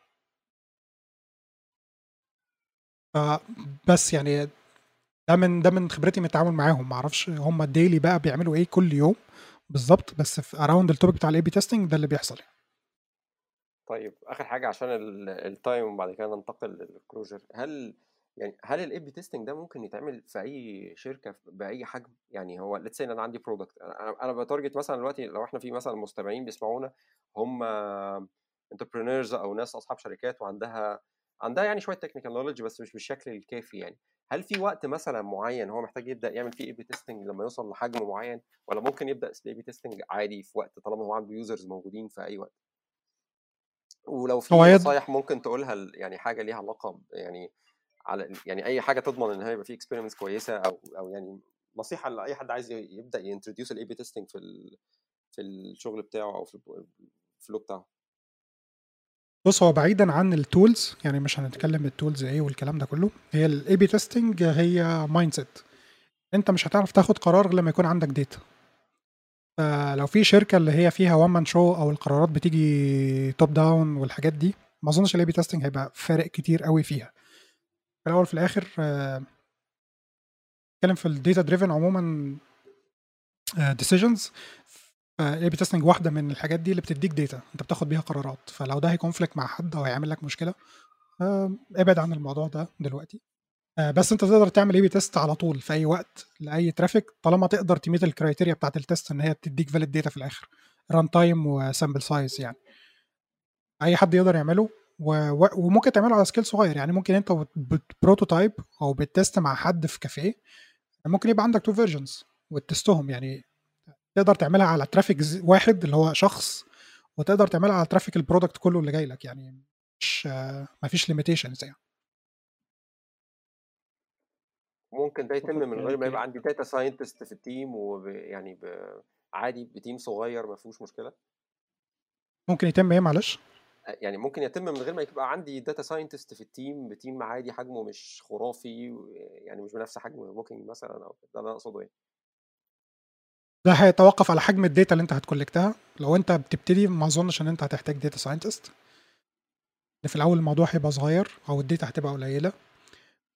ف... بس يعني ده من ده من خبرتي من التعامل معاهم. ما اعرفش هم الديلي بقى بيعملوا ايه كل يوم بالظبط، بس في اراوند التوبيك بتاع الاي بي تيستنج ده اللي بيحصل يعني. طيب اخر حاجه عشان التايم وبعد كده ننتقل للكلوجر، هل يعني هل الاي بي تيستنج ده ممكن يتعمل في اي شركه باي حجم؟ يعني هو ليتس سي انا عندي برودكت، انا انا بتارجت مثلا دلوقتي لو احنا في مثلا مستمعين بيسمعونا هم انتربرينورز او ناس اصحاب شركات وعندها عندها يعني شويه تكنيكال نوليدج بس مش بالشكل الكافي، يعني هل في وقت مثلا معين هو محتاج يبدا يعمل فيه اي بي تيستنج لما يوصل لحجم معين، ولا ممكن يبدا الاي بي تيستنج عادي في وقت طالما هو عنده يوزرز موجودين في اي وقت؟ ولو هو في يد... نصايح ممكن تقولها ل- يعني حاجه ليها علاقه ب- يعني على يعني اي حاجه تضمن ان هي يبقى في اكسبيرمنتس كويسه، او او يعني نصيحه لاي حد عايز ي- يبدا ينتروديوس الاي بي تيستنج في ال- في الشغل بتاعه او في الب- الفلو بتاعه. بص، هو بعيدا عن التولز، يعني مش هنتكلم التولز ايه والكلام ده كله، هي الاي بي تيستنج هي مايند سيت. انت مش هتعرف تاخد قرار غير لما يكون عندك داتا. فلو في شركه اللي هي فيها وان مان شو او القرارات بتيجي توب داون والحاجات دي، ما اظنش الاي بي تيستنج هيبقى فارق كتير قوي فيها. في الاول في الاخر آه، اتكلم في الداتا دريفن عموما ديسيجنز. الاي بي تيستنج واحده من الحاجات دي اللي بتديك داتا انت بتاخد بيها قرارات، فلو ده هيكونفليكت مع حد او هيعمل لك مشكله، آه، ابعد عن الموضوع ده دلوقتي. آه، بس انت تقدر تعمل اي بي تيست على طول في اي وقت لاي ترافيك، طالما تقدر تميت الكرايتيريا بتاعت التيست ان هي تديك فاليد داتا في الاخر، ران تايم وسامبل سايز. يعني اي حد يقدر يعمله، و... و... وممكن تعمله على سكيل صغير. يعني ممكن انت بتبروتوتايب او بتست مع حد في كافيه، ممكن يبقى عندك تو فيرجنز وتستهم. يعني تقدر تعملها على ترافيك واحد اللي هو شخص، وتقدر تعملها على ترافيك البرودكت كله اللي جاي لك. يعني مش ما فيش ليميتيشنز يعني. ممكن ده يتم شكرا من غير ما يبقى ليك. عندي داتا ساينتست في التيم، ويعني عادي بتيم صغير ما فيهوش مشكله؟ ممكن يتم ايه معلش؟ يعني ممكن يتم من غير ما يبقى عندي داتا ساينتست في التيم، بتيم عادي حجمه مش خرافي، يعني مش بنفس حجم بوكينج مثلا، او ده اللي انا اقصده يعني. ده هيتوقف على حجم الداتا اللي انت هتكولكتها. لو انت بتبتدي ما اظنش ان انت هتحتاج داتا ساينتست. في الاول الموضوع هيبقى صغير او الداتا هتبقى قليله،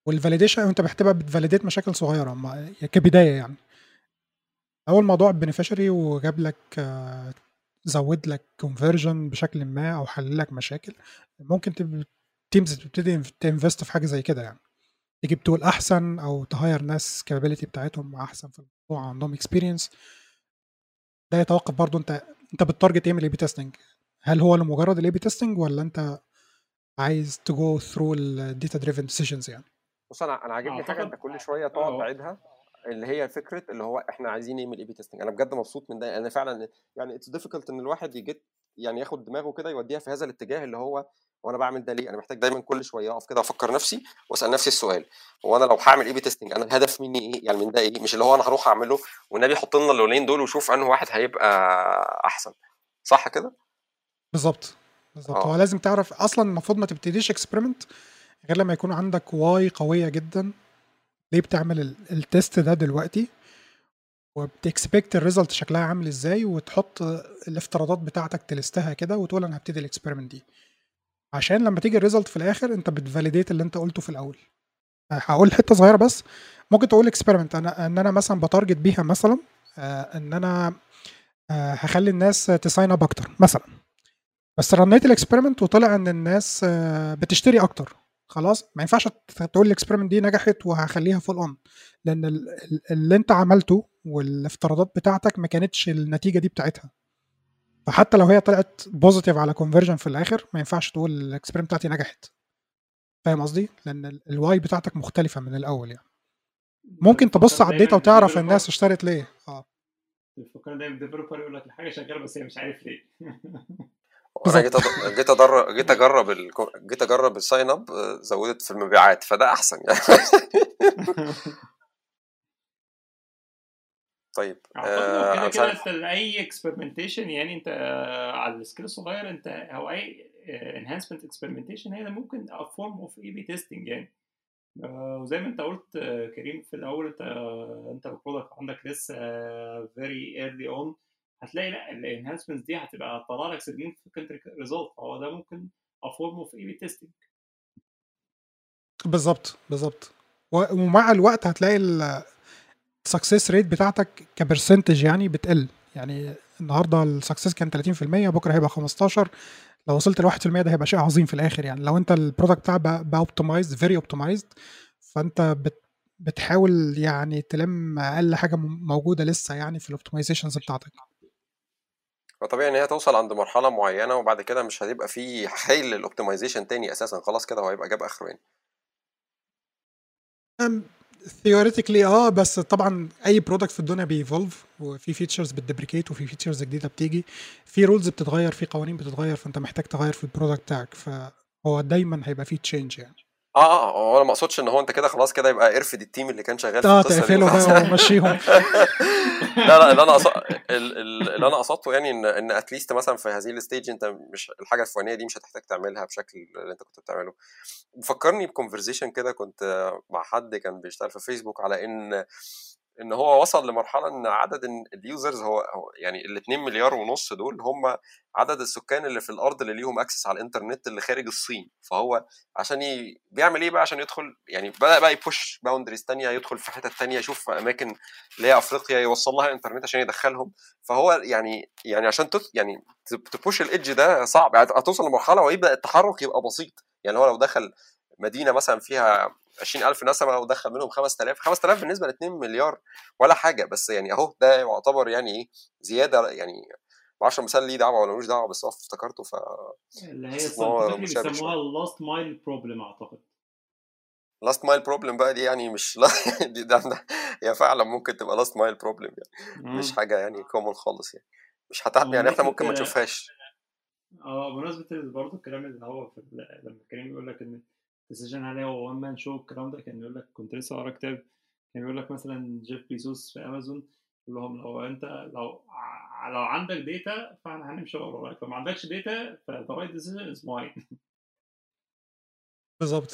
والفاليديشن انت بتبقى بتفاليديت مشاكل صغيره ما- كبدايه يعني. اول موضوع بنفيشري وجاب لك آه، زود لك كونفرجن بشكل ما او حل لك مشاكل، ممكن تيمز تبتدي تنفست في حاجه زي كده يعني، تجيب تول احسن او تهاير ناس كابابيلتي بتاعتهم احسن في الموضوع، عندهم اكسبيرينس. ده يتوقف برضو انت انت بالتارجت ايه من الاي بي تيستنج، هل هو لمجرد الاي بي تيستنج ولا انت عايز تجو ثرو الداتا دريفن ديسيجنز يعني. بص انا انا عاجبني حاجه انت اعتقد كل شويه تقعد اه تعيدها، اللي هي فكره اللي هو احنا عايزين نعمل اي بي تيستنج. انا بجد مبسوط من ده، انا فعلا يعني اتس ديفيكولت ان الواحد يجي يعني ياخد دماغه كده يوديها في هذا الاتجاه اللي هو وانا بعمل ده ليه. انا محتاج دايما كل شويه اقف كده افكر نفسي واسال نفسي السؤال، هو انا لو هعمل اي بي تيستنج انا الهدف مني ايه يعني من ده ايه، مش اللي هو انا هروح اعمله والنبي حط لنا اللونين دول وشوف انه واحد هيبقى احسن. صح كده؟ بالظبط بالظبط، هو اه لازم تعرف اصلا المفروض ما تبتديش اكسبيرمنت غير لما يكون عندك واي قويه جدا ليه بتعمل ال- التيست ده دلوقتي، وبتكسبكت الريزلت شكلها عامل ازاي، وتحط الافتراضات بتاعتك تلستها كده وتقول انا هبتدي الاكسبيرمنت دي، عشان لما تيجي الريزلت في الاخر انت بتفاليديت اللي انت قلته في الاول. هقول حته صغيره بس، ممكن تقول اكسبيرمنت انا ان انا مثلا بتارجت بيها مثلا آه، ان انا آه، هخلي الناس تساين اب اكتر مثلا، بس رنيت الاكسبيرمنت وطلع ان الناس آه، بتشتري اكتر، خلاص ما ينفعش تقول الاكسبيرمنت دي نجحت وهخليها فول اون، لان ال- ال- اللي انت عملته والافتراضات بتاعتك ما كانتش النتيجه دي بتاعتها، فحتى لو هي طلعت بوزيتيف على كونفرجن في الاخر ما ينفعش تقول الاكسبيرمنت بتاعتي نجحت. فاهم قصدي؟ لان الواي بتاعتك مختلفه من الاول يعني. انت ممكن تبص بتفكرني على الداتا دايما وتعرف الناس بديفلوبر، اشترت ليه. اه بتفكرني دايما بديفلوبر يقول لك الحاجه شغاله بس هي مش عارف ليه. وانا جيت بالظبط. أد... جيت ادرب جيت اجرب ال... جيت اجرب الساين اب، آه، زودت في المبيعات فده احسن يعني. طيب اعتقد هو آه، كده انا مش كده عارف. انت اي اكسبيرمنتيشن يعني انت آه، على السكيل الصغير انت او اي انهانسمنت اكسبيرمنتيشن هي ممكن فورم اوف اي بي تيستنج يعني. آه، وزي ما انت قلت آه، كريم في الاول انت آه، انت البرودكت عندك لسه فيري ايرلي اون، هتلاقي لا الانهانسمنتس دي هتبقى طلع لك significant ريزلت، فهو ده ممكن فورم اوف اي بي تيستنج. بالظبط بالظبط، و- ومع الوقت هتلاقي السكسس ريت بتاعتك كبرسنتج يعني بتقل، يعني النهارده السكسس كان ثلاثين في المية بكره هيبقى خمستاشر، لو وصلت ل واحد في المية ده هيبقى شيء عظيم في الاخر يعني، لو انت البرودكت بتاعك بقى اوبتمايزد فيري اوبتمايزد، فانت بت بتحاول يعني تلم اقل حاجه م- موجوده لسه يعني في الاوبتمايزيشنز بتاعتك. فطبيعي ان هي توصل عند مرحله معينه وبعد كده مش هتبقى في حيل للاوبتمايزيشن تاني اساسا، خلاص كده هو هيبقى جاب اخره يعني. ثيوريتيكلي اه، بس طبعا اي برودكت في الدنيا بيفولف، وفي فيتشرز بتدبريكيت وفي فيتشرز جديده بتيجي، في رولز بتتغير في قوانين بتتغير، فانت محتاج تغير في البرودكت بتاعك، فهو دايما هيبقى فيه تشينج يعني. اه اه هو انا ما اقصدش ان هو انت كده خلاص كده يبقى ارفد التيم اللي كان شغال في اه القصه دي تقفله وخلاص. بقى ومشيهم. لا لا اللي انا أص... اللي انا قصدته يعني ان ان اتليست مثلا في هذه الستيج انت مش الحاجه الفلانيه دي مش هتحتاج تعملها بشكل اللي انت كنت بتعمله. فكرني بكونفرزيشن كده كنت مع حد كان بيشتغل في فيسبوك على ان ان هو وصل لمرحله ان عدد اليوزرز هو, هو يعني ال اتنين مليار ونص دول هم عدد السكان اللي في الارض اللي ليهم اكسس على الانترنت اللي خارج الصين. فهو عشان ي... بيعمل ايه بقى عشان يدخل يعني بدا بقى يبوش باوندريز تانية، يدخل في حتت تانية، يشوف اماكن اللي هي افريقيا يوصل لها انترنت عشان يدخلهم. فهو يعني يعني عشان تت... يعني تبوش الايدج ده صعب، يعني هتوصل لمرحله ويبدا التحرك يبقى بسيط. يعني هو لو دخل مدينه مثلا فيها عشرين ألف نسمه ودخل منهم خمسة آلاف، خمسة آلاف بالنسبه ل اتنين مليار ولا حاجه، بس يعني اهو ده يعتبر يعني ايه زياده يعني. ما اعرفش مثال ليه دعوه ولا ملوش دعوه بس هو افتكرته اللي هي فحسيت ان هو scientifically مشابه بيسموها شويه. اللاست مايل بروبلم اعتقد. لاست مايل بروبلم بقى دي يعني مش لا دي ده ده هي فعلا ممكن تبقى لاست مايل بروبلم يعني، مش اه حاجه يعني كومون خالص يعني، مش هت... يعني احنا بمناسبة ممكن ما نشوفهاش. اه بمناسبة برضه الكلام اللي هو في ال- لما كريم يقول لك ان الديسيجن عليه هو وان مان شو، الكلام ده كان يقول لك كنت لسه قارا كتاب كان بيقول لك مثلا جيف بيزوس في امازون يقول لهم لو انت لو ع- لو عندك داتا فاحنا هنمشي وراك، لو ما عندكش داتا فذا رايت ديسيجن از ماين. بالظبط.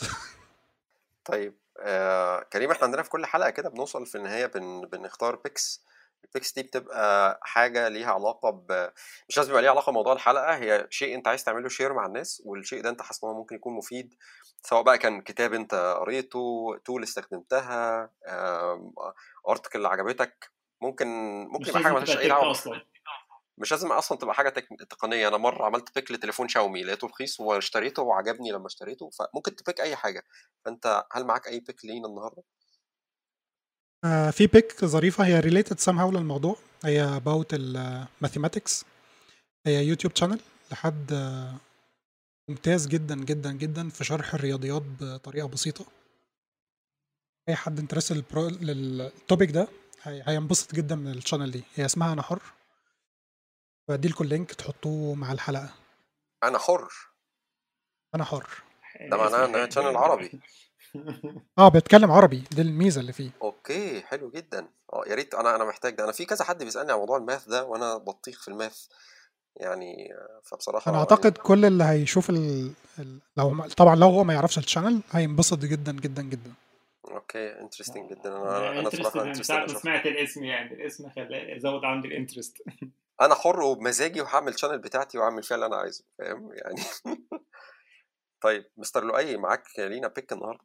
طيب آه كريم احنا عندنا في كل حلقه كده بنوصل في النهايه بن... بنختار بيكس البيكس دي بتبقى حاجه ليها علاقه ب مش لازم يبقى ليها علاقه بموضوع الحلقه، هي شيء انت عايز تعمله شير مع الناس، والشيء ده انت حاسس ان هو ممكن يكون مفيد، سواء بقى كان كتاب انت قريته، تول استخدمتها، ارتكل عجبتك، ممكن ممكن مش يبقى حاجه لازم مالهاش تبقى اي تك دعوه. اصلا. مش لازم اصلا تبقى حاجه تك... تقنيه. انا مره عملت بيك لتليفون شاومي لقيته رخيص واشتريته وعجبني لما اشتريته، فممكن تبيك اي حاجه. فانت هل معاك اي بيك لينا النهارده؟ آه في بيك ظريفة هي related somehow للموضوع، هي about ال mathematics. هي يوتيوب channel لحد آه، ممتاز جدا جدا جدا في شرح الرياضيات بطريقة بسيطة. أي حد انترست للتوبيك ده هي- هينبسط جدا من الشانل دي. هي اسمها أنا حر، بدي لكم اللينك تحطوه مع الحلقة. انا حر، أنا حر. ده معناه اسم انها حلو. شانل عربي. اه بيتكلم عربي، دي الميزة اللي فيه. اوكي حلو جدا. اه يا ريت، انا انا محتاج ده. انا في كذا حد بيسالني عن موضوع الماث ده وانا بطيخ في الماث يعني، آه، أنا فبصراحه يعني. أعتقد كل اللي هيشوف ال... ال... لو ما- طبعا لو هو ما يعرفش الشانل هينبسط جدا جدا جدا. اوكي انترستنج جدا. انا انا انا أنا بصراحه انترستد من انترستد ساعه ما اشوفها. سمعت الاسم، يعني الاسم خلاني زود عندي الانترست. انا حر وبمزاجي وهعمل شانل بتاعتي واعمل فيها اللي انا عايزه، فاهم يعني. طيب مستر لؤي، معاك لينا بيك النهارده؟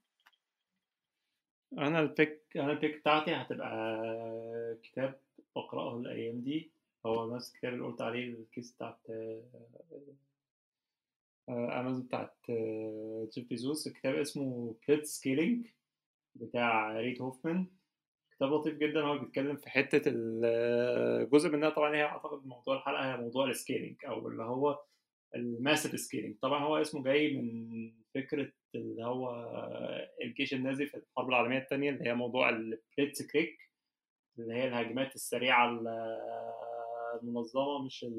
انا البيك انا البيك بتاعتي هتبقى كتاب بقراه الايام دي، هو نفس الكتاب اللي قلت عليه، الكيس بتاعت امازون بتاعت آه، جيف بيزوس. الكتاب اسمه بليت سكيلينج بتاع ريد هوفمان. كتاب لطيف جدا، هو بيتكلم في حته الجزء منها طبعا هي اعتقد موضوع الحلقه هي موضوع السكيلينج، او اللي هو الماسيف سكيلينج. طبعا هو اسمه جاي من فكره اللي هو الجيش النازي في الحرب العالميه الثانيه، اللي هي موضوع البليتس كريك، اللي هي الهجمات السريعه المنظمه، مش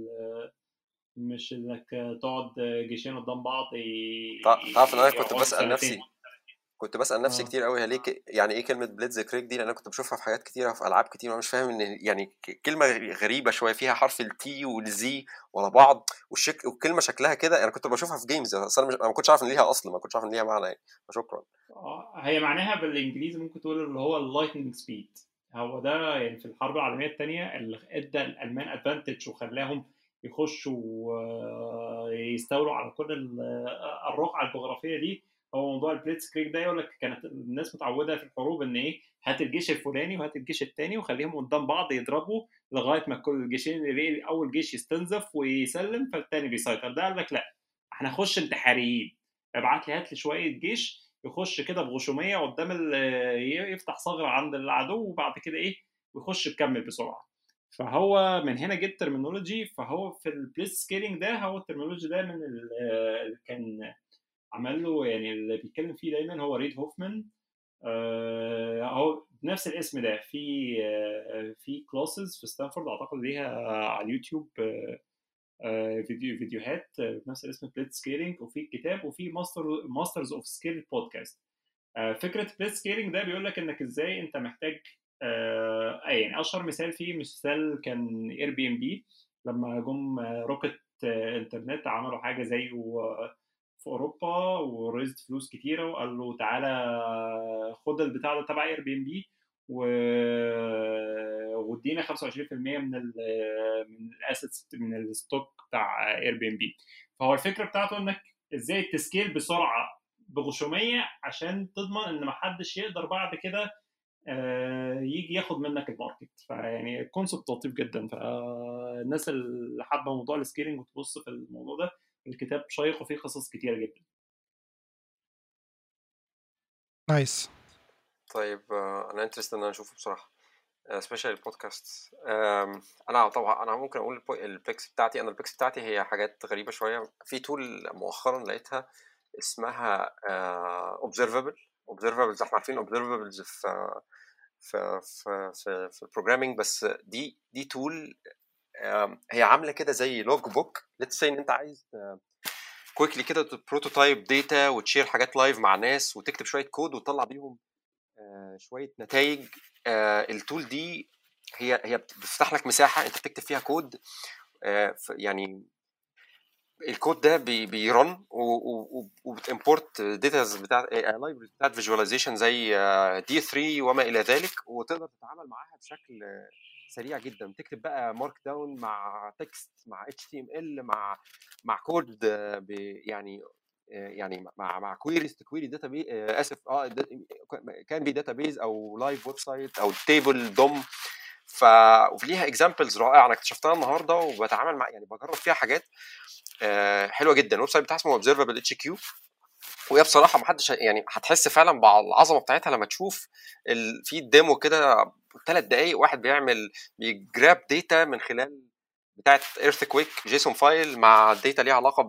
مش انك تقعد جيشين قدام بعض ي- تعرف ان انا كنت يقعدوا بسال سنتين. نفسي كنت بسال نفسي اه كتير قوي، هي ليه ك- يعني ايه كلمه بليتز كريك دي؟ لان انا كنت بشوفها في حاجات كتيره في العاب كتير، وانا مش فاهم ان يعني ك- كلمه غريبه شويه، فيها حرف التي والزي ورا بعض، والشك والكلمه شكلها كده. انا كنت بشوفها في جيمز، بس انا مش... أنا ما كنتش عارف ان ليها اصل، ما كنتش عارف ان ليها معنى يعني. شكرا. آه، هي معناها بالانجليزي ممكن تقول اللي هو اللايتنج سبيد. هو ده يعني في الحرب العالميه الثانيه اللي ادى الالمان ادفانتج وخلاهم يخشوا آه، يستولوا على كل ال- آه، الرقعه الجغرافيه دي. هو موضوع البليتس كريك ده، يقول لك كانت الناس متعوده في الحروب ان ايه، هات الجيش الفلاني وهات الجيش الثاني وخليهم قدام بعض يضربوا لغايه ما كل الجيشين اللي اول جيش يستنزف ويسلم فالثاني بيسيطر. ده قال لك لا، احنا نخش انتحاريين، ابعت لي هات لي شويه جيش يخش كده بغشوميه قدام ال- يفتح ثغره عند العدو، وبعد كده ايه ويخش يكمل بسرعه. فهو من هنا جبت ترمينولوجي. فهو في البليس سكيلينج ده، هو الترمينولوجي ده من اللي كان عمل له، يعني اللي بيتكلم فيه دايما هو ريد هوفمان. آه، هو بنفس الاسم ده في آه، في كلاسز في ستانفورد اعتقد ليها على اليوتيوب، آه، آه، فيديو فيديوهات آه، بنفس الاسم بليت سكيلينج، وفي كتاب، وفي ماستر ماسترز اوف سكيل بودكاست. آه، فكره بليت سكيلينج ده بيقول لك انك ازاي انت محتاج آه، يعني اشهر مثال فيه مثال كان اير بي ام بي. لما جم آه، روكت آه، انترنت عملوا حاجه زيه آه، في اوروبا، ورزت فلوس كتيره وقال له تعالى خد البتاع ده تبع اير بي ام بي وادينا خمسة وعشرين في المية من ال من الاسيتس من الستوك بتاع اير بي ام بي. فهو الفكره بتاعته انك ازاي تسكيل بسرعه بغشوميه عشان تضمن ان محدش يقدر بعد كده آه، يجي ياخد منك الماركت. فيعني كونسبت لطيف جدا. فالناس اللي حابه موضوع السكيلينج وتبص في الموضوع ده، الكتاب شيق وفيه قصص كتيره جدا. نايس. طيب آه، انا انترست ان انا اشوفه بصراحه، سبيشال البودكاست. انا طبعا انا ممكن اقول البو- البيكس بتاعتي. انا البيكس بتاعتي هي حاجات غريبه شويه. في تول مؤخرا لقيتها اسمها اوبزرفبل. اوبزرفبلز احنا عارفين اوبزرفبلز في في في في, في البروجرامينج، بس دي دي تول هي عامله كده زي لوج بوك. ليتس سي ان انت عايز كويكلي كده بروتوتايب داتا وتشير حاجات لايف مع ناس وتكتب شويه كود وتطلع بيهم آه، شويه نتائج. التول دي هي هي بتفتح لك مساحه انت بتكتب فيها كود. آه، ف- يعني الكود ده بي بيرن وبتمبورت داتا بتاعت لايبرز بتاعت فيجواليزيشن زي دي ثري وما الى ذلك، وتقدر تتعامل معاها بشكل سريع جدا، تكتب بقى مارك داون مع تكست مع اتش تي ام ال مع مع كود يعني يعني مع مع كويريز تكويري داتا بيز اسف اه كان بي داتا بيز او لايف ويب سايت او تيبل دوم. ف وليها اكزامبلز رائعه انا اكتشفتها النهارده وبتعامل مع يعني بجرب فيها حاجات حلوه جدا. الويب سايت بتاعها اسمه اوبزرفبل اتش كيو، وهي بصراحه ما حدش يعني هتحس فعلا بالعظمه بتاعتها لما تشوف ال... في الديمو كده ثلاث دقائق واحد بيعمل بيجراب داتا من خلال بتاعت ايرثكويك جيسون فايل مع داتا ليها علاقه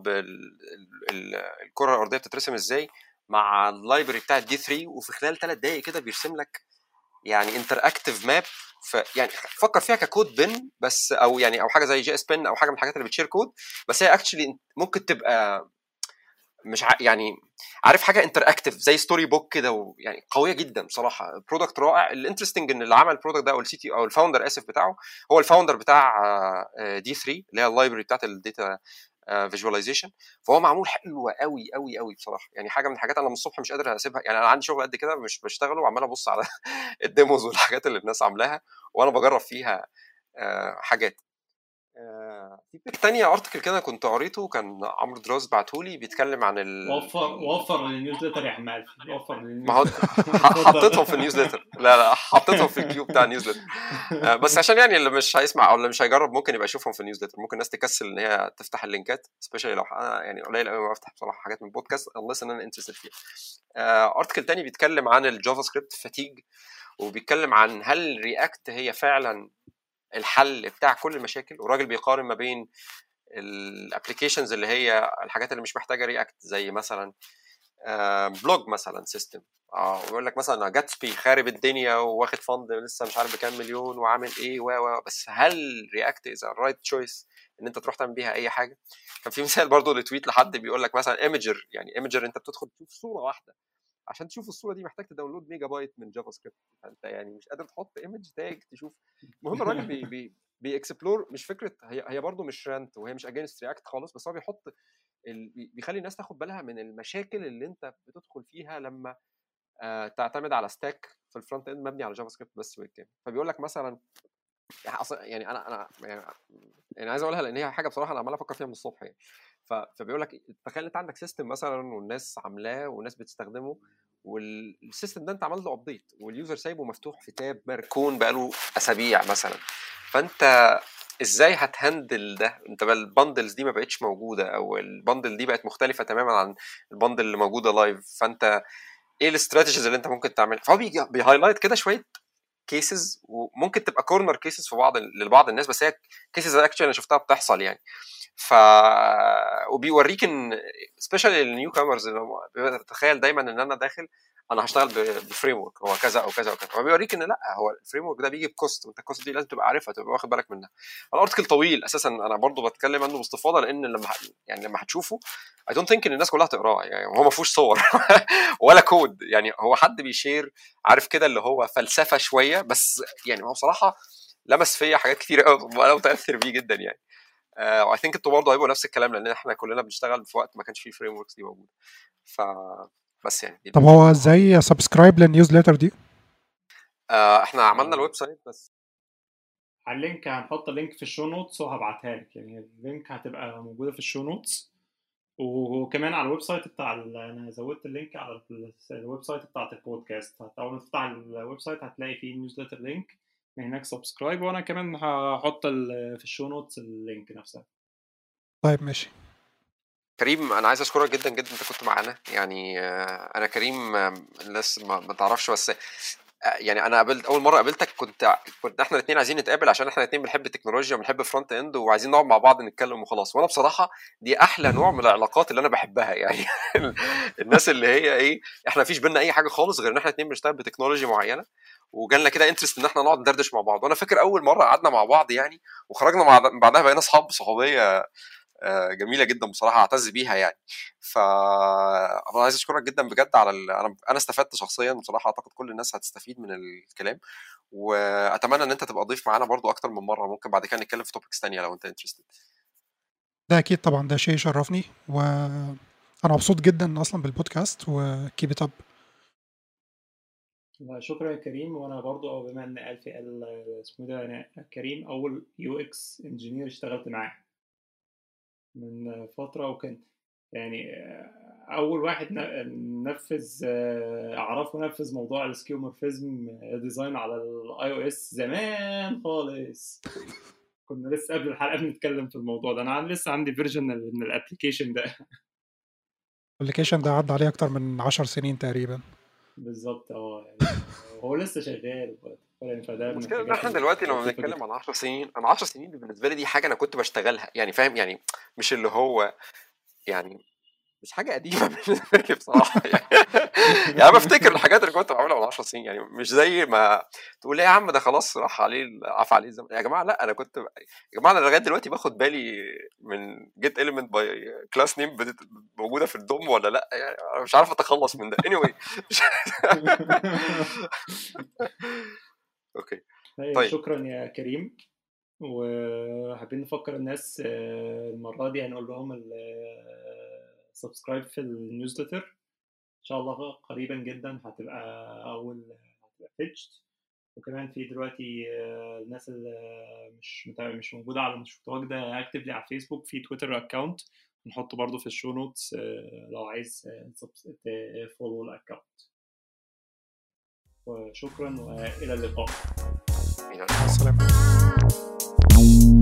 بالكره الارضيه بتترسم ازاي مع اللايبرري بتاع دي ثري، وفي خلال ثلاث دقائق كده بيرسم لك يعني انتراكتيف ماب. ف يعني فكر فيها ككود بن بس، او يعني او حاجه زي جي اس بن او حاجه من الحاجات اللي بتشير كود، بس هي اكشلي ممكن تبقى مش ع... يعني عارف حاجه انتراكتيف زي ستوري بوك كده، ويعني قويه جدا بصراحه. برودكت رائع. الانترستنج ان اللي عمل البرودكت ده او السي تي او الفاوندر اسف بتاعه هو الفاوندر بتاع دي ثري اللي هي اللايبرري بتاعت الداتا فيجواليزيشن. فهو معمول حلو قوي قوي قوي بصراحه، يعني حاجه من الحاجات انا من الصبح مش قادر اسيبها. يعني انا عندي شغل قد كده مش بشتغله وعمال ابص على الديموز والحاجات اللي الناس عاملاها وانا بجرب فيها حاجات. في بيك تانية ارتكل كده كنت قريته كان عمرو دراز بعتهولي بيتكلم عن ال وفر وفر للنيوزليتر يا عمال وفر ما هو حطيتهم في النيوزليتر. لا لا حطيتهم في الكيو بتاع النيوزليتر بس عشان يعني اللي مش هيسمع او اللي مش هيجرب ممكن يبقى يشوفهم في النيوزليتر. ممكن الناس تكسل ان هي تفتح اللينكات سبيشالي لو انا يعني قليل قوي ما بفتح بصراحه حاجات من بودكاست unless ان انا انترستد فيها. ارتكل تاني بيتكلم عن الجافا سكريبت فاتيج، وبيتكلم عن هل رياكت هي فعلا الحل بتاع كل المشاكل، والراجل بيقارن ما بين الابلكيشنز اللي هي الحاجات اللي مش محتاجه رياكت زي مثلا بلوج مثلا سيستم اه ويقول لك مثلا جاتسبي خارب الدنيا واخد فند لسه مش عارف بكام مليون وعامل ايه و بس هل رياكت از الرايت تشويس ان انت تروح تعمل بيها اي حاجه؟ كان في مثال برضو لتويت لحد بيقول لك مثلا ايمجر، يعني ايمجر انت بتدخل تشوف صوره واحده، عشان تشوف الصوره دي محتاج تداونلود ميجا بايت من جافا سكريبت، فانت يعني مش قادر تحط ايمج تاج تشوف. المهم الراجل بي بي بيكسبلور مش فكره هي هي برضو مش رانت وهي مش اجينست رياكت خالص، بس هو بيحط ال... بيخلي الناس تاخد بالها من المشاكل اللي انت بتدخل فيها لما آه تعتمد على ستاك في الفرونت اند مبني على جافا سكريبت بس بالكامل. فبيقول لك مثلا يعني انا انا يعني, يعني عايز اقولها لان هي حاجه بصراحه انا عمال افكر فيها من الصبح يعني. فبيقول لك تخيل انت عندك سيستم مثلا والناس عاملاه والناس بتستخدمه، والسيستم ده انت عملت له ابديت واليوزر سايبه مفتوح في تاب مركون بقاله اسابيع مثلا، فانت ازاي هتهندل ده؟ انت بقى البندلز دي ما بقتش موجوده او البندل دي بقت مختلفه تماما عن البندل اللي موجوده لايف، فانت ايه الاستراتيجيز اللي انت ممكن تعملها؟ فهو بيهايلايت كده شويه كيسز وممكن تبقى كورنر كيسز في بعض لبعض الناس، بس هي كيسز اكشلي انا شفتها بتحصل يعني. ف وبيوريك ان سبيشالي النيو كامرز تخيل دايما ان انا داخل انا هشتغل بفريم ورك هو كذا او كذا او كذا، فبيوريك ان لا هو الفريم ورك ده بيجي بكوست وانت الكوست دي لازم تبقى عارفها تبقى واخد بالك منها. الارتكل طويل اساسا انا برضو بتكلم عنه باستفاضه لان لما يعني لما هتشوفه اي دونت ثينك ان الناس كلها تقراه، يعني هو ما فيهوش صور ولا كود، يعني هو حد بيشير عارف كده اللي هو فلسفه شويه بس، يعني هو بصراحه لمس فيا حاجات كتير قوي وانا متاثر بيه جدا يعني. اي ثينك انتوا برضه هيبقوا نفس الكلام لان احنا كلنا بنشتغل في وقت ما كانش فيه فريم وركس دي موجوده. ف بس يعني طب هو ازاي سبسكرايب للنيوزليتر دي؟ آه احنا عملنا الويب سايت بس على اللينك هنحط اللينك في الشو نوتس وهبعتها لك، يعني اللينك هتبقى موجوده في الشو نوتس، وكمان على الويب سايت بتاع انا زودت اللينك على الويب سايت بتاعت البودكاست. اول ما تفتح الويب سايت هتلاقي فيه نيوزليتر لينك من هناك سبسكرايب، وانا كمان هحط في الشو نوتس اللينك نفسها. طيب ماشي. كريم انا عايز اشكرك جدا جدا انت كنت معانا يعني. انا كريم الناس ما تعرفش بس يعني انا قابلت اول مره قابلتك كنت كنت احنا الاثنين عايزين نتقابل عشان احنا الاثنين بنحب التكنولوجيا وبنحب فرونت اند وعايزين نقعد مع بعض نتكلم وخلاص، وانا بصراحه دي احلى نوع من العلاقات اللي انا بحبها يعني. الناس اللي هي ايه احنا مفيش بينا اي حاجه خالص غير ان احنا الاثنين بنشتغل بتكنولوجيا معينه وجالنا كده انترست ان احنا نقعد ندردش مع بعض. وانا فاكر اول مره قعدنا مع بعض يعني وخرجنا مع بعدها بقينا اصحاب صحوبيه جميله جدا بصراحه اعتز بيها يعني. فانا عايز اشكرك جدا بجد على ال... انا انا استفدت شخصيا بصراحه، اعتقد كل الناس هتستفيد من الكلام، واتمنى ان انت تبقى ضيف معانا برضو اكتر من مره، ممكن بعد كده نتكلم في توبكس ثانيه لو انت انترستد. ده اكيد طبعا، ده شيء يشرفني وانا مبسوط جدا اصلا بالبودكاست وكيب ات اب. شكرا يا كريم. وانا برضو بما ان قال في قال اسمه ده، انا كريم اول يو اكس انجينير اشتغلت معاه من فتره، وكان يعني اول واحد نفذ اعرفه نفذ موضوع السكيومورفيزم ديزاين على الاي او اس زمان خالص. كنا لسه قبل الحلقه بنتكلم في الموضوع ده. انا لسه عندي فيرجن من الابلكيشن ده. الابلكيشن ده عدى عليه اكتر من عشر سنين تقريبا. بالظبط اه يعني هو لسه شغال يعني. فده من المشكله ان الحاجات احنا دلوقتي لما اللطيفة بنتكلم جدا. عن عشر سنين، انا عشر سنين دي بالنسبه لي دي حاجه انا كنت بشتغلها يعني، فاهم يعني، مش اللي هو يعني مش حاجه قديمه بالنسبه لي بصراحه يعني. يعني انا بفتكر الحاجات اللي كنت بعملها من عشر سنين، يعني مش زي ما تقول ايه يا عم ده خلاص راح عليه عفى عليه الزمن. يا جماعه لا، انا كنت يا جماعه انا لغايه دلوقتي باخد بالي من جيت element باي كلاس نيم موجوده في الدوم ولا لا، يعني انا مش عارف اتخلص من ده. anyway اوكي طيب شكرا يا كريم. وحابين نفكر الناس المرة دي هنقول لهم السبسكرايب في النيوزلتر ان شاء الله قريبا جدا، هتبقى اول هتبقى بيتشد. وكمان في دلوقتي الناس اللي مش مش موجوده على مش متواجده اكتفلي على فيسبوك، في تويتر اكونت نحطه برضو في الشو نوتس لو عايز تفولو الاكونت. وشكرا والى اللقاء. السلام.